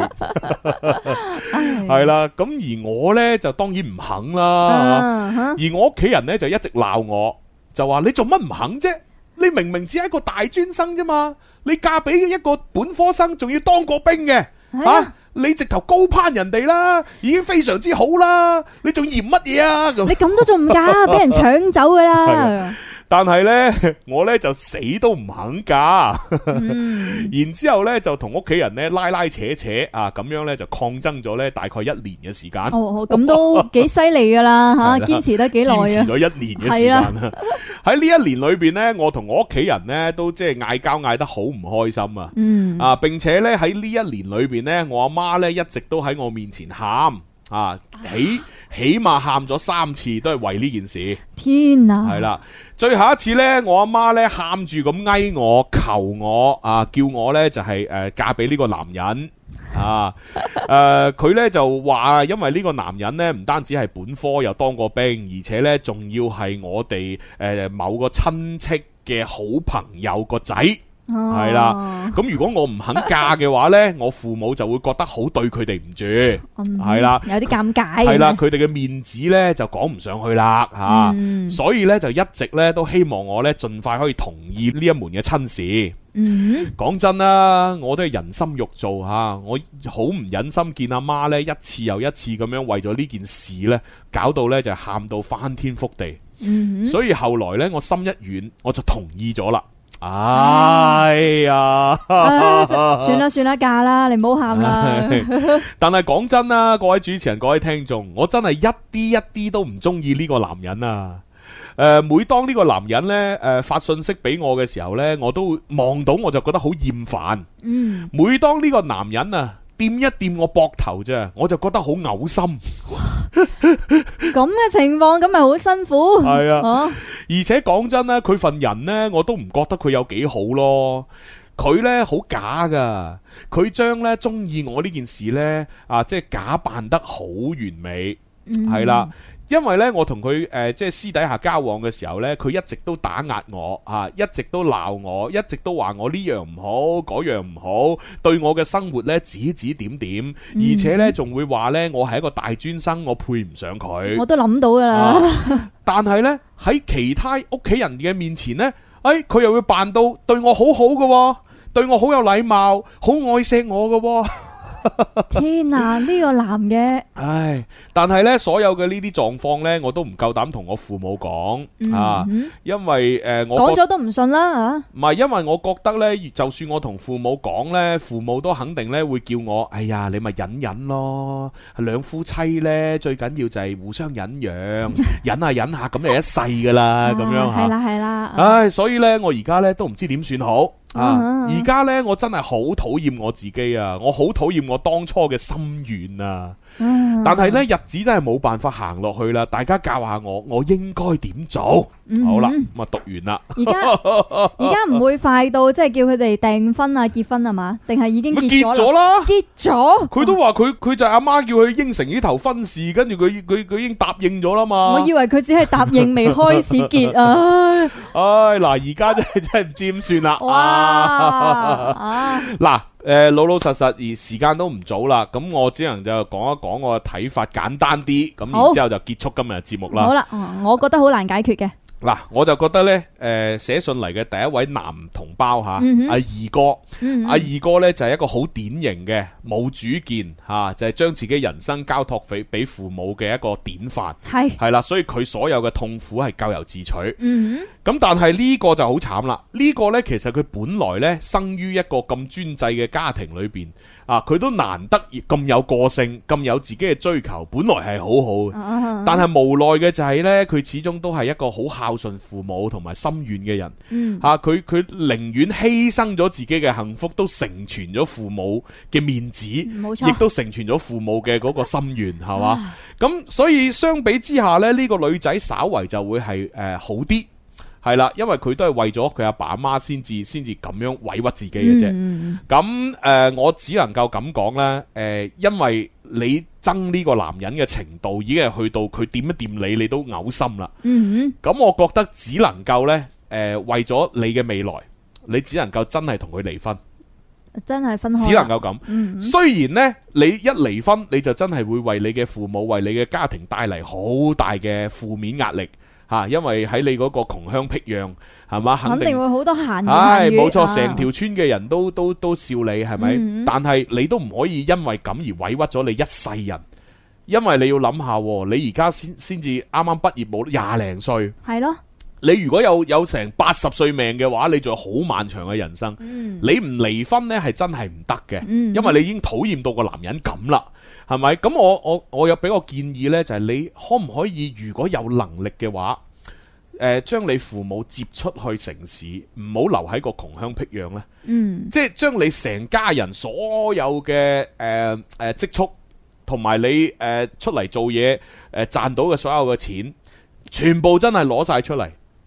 係啦。咁而我。我咧就當然唔肯啦，uh, huh. 而我屋企人咧就一直鬧我，就話你做乜唔肯啫？你明明只係一個大專生啫嘛，你嫁俾一個本科生，仲要當過兵嘅，吓、uh. 啊、你直頭高攀人哋啦，已經非常之好啦，你仲嫌乜嘢啊？
你咁都仲唔嫁，俾人搶走噶啦！
但係呢，我呢就死都唔肯嫁，嗯、然之後呢就同屋企人呢拉拉扯扯啊，咁樣呢就抗爭咗呢大概一年嘅時間。
哦，咁都幾犀利噶啦吓，堅持得幾耐啊！堅
持咗一年嘅時間啊！喺呢一年裏邊呢，我同我屋企人呢都即係嗌交嗌得好唔開心啊！嗯啊，並且呢喺呢一年裏邊呢，我阿媽呢一直都喺我面前喊啊，起起碼喊咗三次，都係為呢件事。
天啊！
係啦。最後一次呢，我阿媽呢喊住咁哀我求我啊，叫我呢就係、是、誒、呃、嫁俾呢個男人啊。誒佢呢就話，因為呢個男人呢唔單止係本科又當過兵，而且呢仲要係我哋誒、呃、某個親戚嘅好朋友個仔係啦。咁如果我唔肯嫁嘅話呢，我父母就會覺得好對佢哋唔住，係啦，
有啲尷尬。
係啦，佢哋嘅面子呢就講唔上去啦吓，
嗯、
所以呢，就一直呢都希望我呢盡快可以同意呢一門嘅親事。
嗯，
講真啦，我都係人心肉做吓，我好唔忍心見阿媽呢一次又一次咁樣為咗呢件事呢，搞到呢就喊到翻天覆地。嗯，所以後來呢，我心一軟，我就同意咗啦。哎呀，
啊、算啦算啦，嫁啦，你唔好喊啦。
但係講真啦，各位主持人、各位聽眾，我真係一啲一啲都唔中意呢個男人啊！誒、呃，每當呢個男人呢誒、呃、發信息俾我嘅時候呢，我都望到我就覺得好厭煩。嗯，每當呢個男人啊掂一掂我膊頭啫，我就覺得好嘔心。
咁嘅情況，咁咪好辛苦。係啊，啊
而且講真咧，佢份人呢，我都唔覺得佢有幾好咯。佢呢好假噶，佢將呢中意我呢件事呢，啊，即係假扮得好完美，係啦、嗯。因為咧，我同佢誒即係私底下交往嘅時候呢，佢一直都打壓我啊，一直都鬧我，一直都話我呢樣唔好，嗰樣唔好，對我嘅生活呢指指點點，嗯、而且呢仲會話呢我係一個大專生，我配唔上佢。我
都諗到噶啦、
啊。但係呢，喺其他屋企人嘅面前呢，誒佢又會扮到對我好好嘅，對我好有禮貌，好愛錫我嘅。
天啊！呢、這個男嘅，
唉，但係呢，所有嘅呢啲狀況呢，我都唔夠膽同我父母講、嗯、啊，因為誒、呃，我
講咗都唔信啦吓。
唔係，因為我覺得呢，就算我同父母講呢，父母都肯定呢會叫我，哎呀，你咪忍忍咯，兩夫妻呢，最緊要就係互相忍讓，忍下忍下咁就一世噶啦，咁樣吓。係啦係啦。唉，所以呢，我而家呢都唔知點算好。啊！而家呢，我真係好討厭我自己啊！我好討厭我當初嘅心願啊！嗯、但係呢，日子真係冇辦法行落去啦。大家教下我，我應該點做？嗯、好啦，咁啊讀完啦。
而家而家唔會快到即係叫佢哋訂婚啊、結婚啊嘛？定係已經結咗啦？結咗。佢都話佢佢就係阿媽叫佢應承呢頭婚事，跟住佢佢佢已經答應咗啦嘛。我以為佢只係答應未開始結啊！唉，嗱，而家真係真係唔知點算啦。哇！嗱，誒，老老實實，而時間都唔早啦，咁我只能就講一講我嘅睇法，簡單啲，咁然之後就結束今日嘅節目啦。好啦，我覺得好難解決嘅。嗱，我就覺得呢，誒、呃，寫信嚟嘅第一位男同胞吓，阿、嗯、二哥，阿、嗯、二哥呢就係、是、一個好典型嘅冇主見吓、啊，就係、是、將自己人生交託俾俾父母嘅一個典範，係係啦，所以佢所有嘅痛苦係咎由自取。嗯咁但係呢個就好慘啦，呢、這個呢，其實佢本來呢，生於一個咁專制嘅家庭裏邊。啊！佢都難得咁有個性，咁有自己嘅追求，本來係好好嘅。Uh-huh. 但係無奈嘅就係呢，佢始終都係一個好孝順父母同埋心軟嘅人。嗯，吓佢佢寧願犧牲咗自己嘅幸福，都成全咗父母嘅面子，冇錯，亦都成全咗父母嘅嗰個心願，係嘛？咁所以相比之下呢，呢、這個女仔稍為就會係誒、呃、好啲。係啦，因為佢都係為咗佢阿爸阿媽先至先至咁樣委屈自己嘅啫。咁、嗯、誒、呃，我只能夠咁講啦。誒、呃，因為你憎呢個男人嘅程度已經係去到佢掂一掂你，你都嘔心啦。嗯，咁我覺得只能夠呢，誒、呃，為咗你嘅未來，你只能夠真係同佢離婚。真係分開，只能夠咁。嗯，雖然呢，你一離婚，你就真係會為你嘅父母、為你嘅家庭帶嚟好大嘅負面壓力。吓，因為喺你嗰個窮鄉僻壤，係嘛，肯定，肯定會好多閒言閒語。唉，冇錯，成條村嘅人都都都笑你，係咪？嗯、但係你都唔可以因為咁而委屈咗你一世人，因為你要諗下，你而家先先至啱啱畢業冇廿零歲，係咯。你如果有有成八十歲命嘅話，你仲有好漫長嘅人生。嗯、你唔離婚呢係真係唔得嘅，嗯、因為你已經討厭到個男人咁啦，係咪？咁我我我有俾個建議呢，就係、是、你可唔可以如果有能力嘅話，誒、呃，將你父母接出去城市，唔好留喺個窮鄉僻壤呢？嗯，即係將你成家人所有嘅誒誒積蓄，同埋你誒、呃、出嚟做嘢誒賺到嘅所有嘅錢，全部真係攞晒出嚟。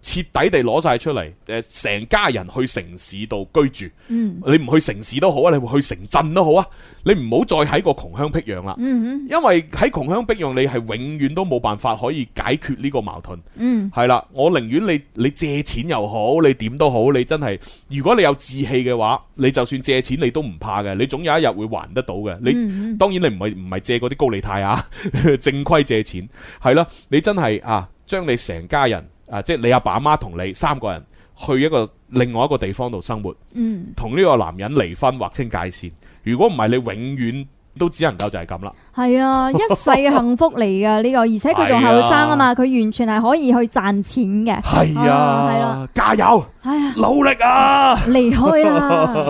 徹底地攞晒出嚟，誒，成家人去城市度居住。
嗯，
你唔去城市都好啊，你去城鎮都好啊，你唔好再喺個窮鄉僻壤啦。
嗯，
因為喺窮鄉僻壤，你係永遠都冇辦法可以解決呢個矛盾。
嗯，
係啦，我寧願你你借錢又好，你點都好，你真係，如果你有志氣嘅話，你就算借錢你都唔怕嘅，你總有一日會還得到嘅。你、嗯、當然你唔係唔係借嗰啲高利貸啊，正規借錢係啦，你真係啊，將你成家人啊，即係你阿爸阿媽同你三個人去一個另外一個地方度生活，
嗯，
同呢個男人離婚劃清界線。如果唔係，你永遠都只能夠就係咁啦。
係啊，一世嘅幸福嚟㗎呢個，而且佢仲後生啊嘛，佢完全係可以去賺錢嘅。
係啊，係啦，加油！
哎呀，
努力啊！
離開啦！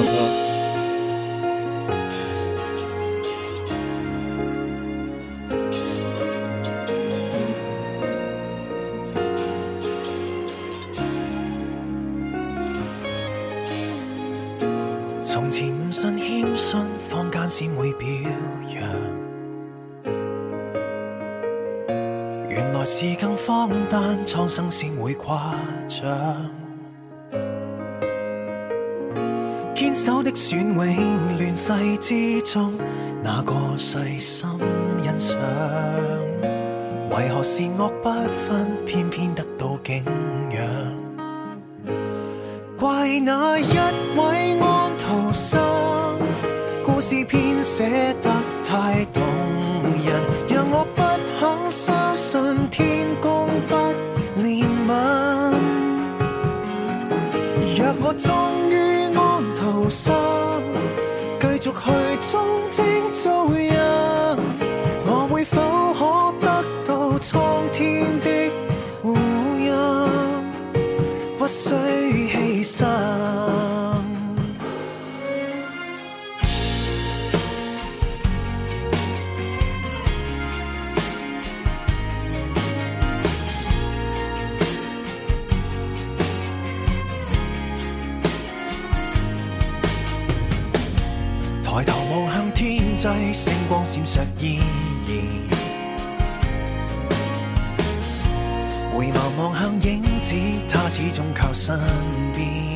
從前唔信謙遜，坊間先會表揚。原來是更荒誕，蒼生先會誇張。堅守的選永亂世之中，哪個細心欣賞？為何善惡不分，偏偏得到敬仰？怪那一位安徒生，故事編寫得太動人，讓我不肯相信天公不憐憫。若我終於安徒生，繼續去裝精做人，我會否可得到蒼天的護蔭？不需犧牲。抬頭望向天際，星光閃爍依然。回眸望向影子，他始終靠身邊。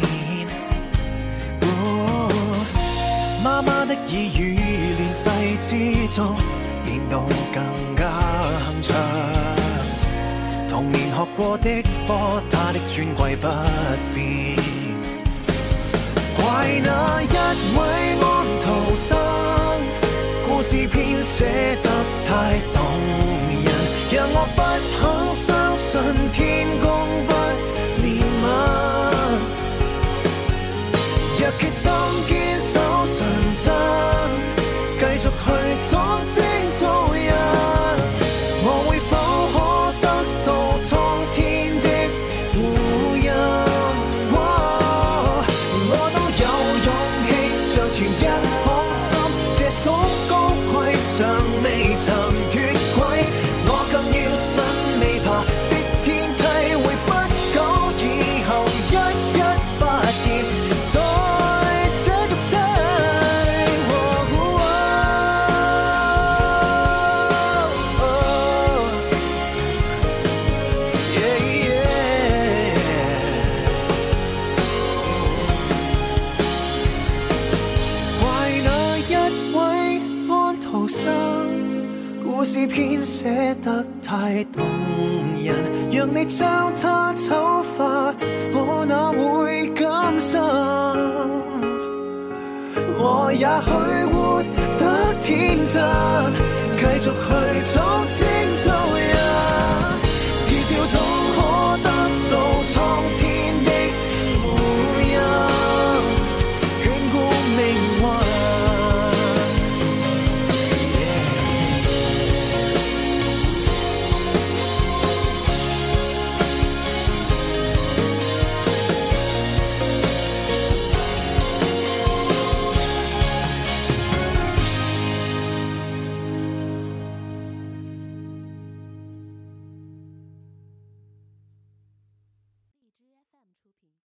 哦，媽媽的耳語，亂世之中變到更加鏗鏘。童年學過的課，他的尊貴不變。怪那一位安徒生，故事編寫得太動人，讓我不肯相信天公不憐憫。若決心堅守純真，繼續去裝精做人，我會否可得到蒼天的護蔭？我都有勇氣，像全一顆心，這種高貴尚未曾脫軌，我更要信未爬的天際會不久以後一一發現，在這俗世。怪那一位安徒生，故事編寫得太動人，讓你將它醜化，我哪會甘心？我也許活得天真，繼續去裝精做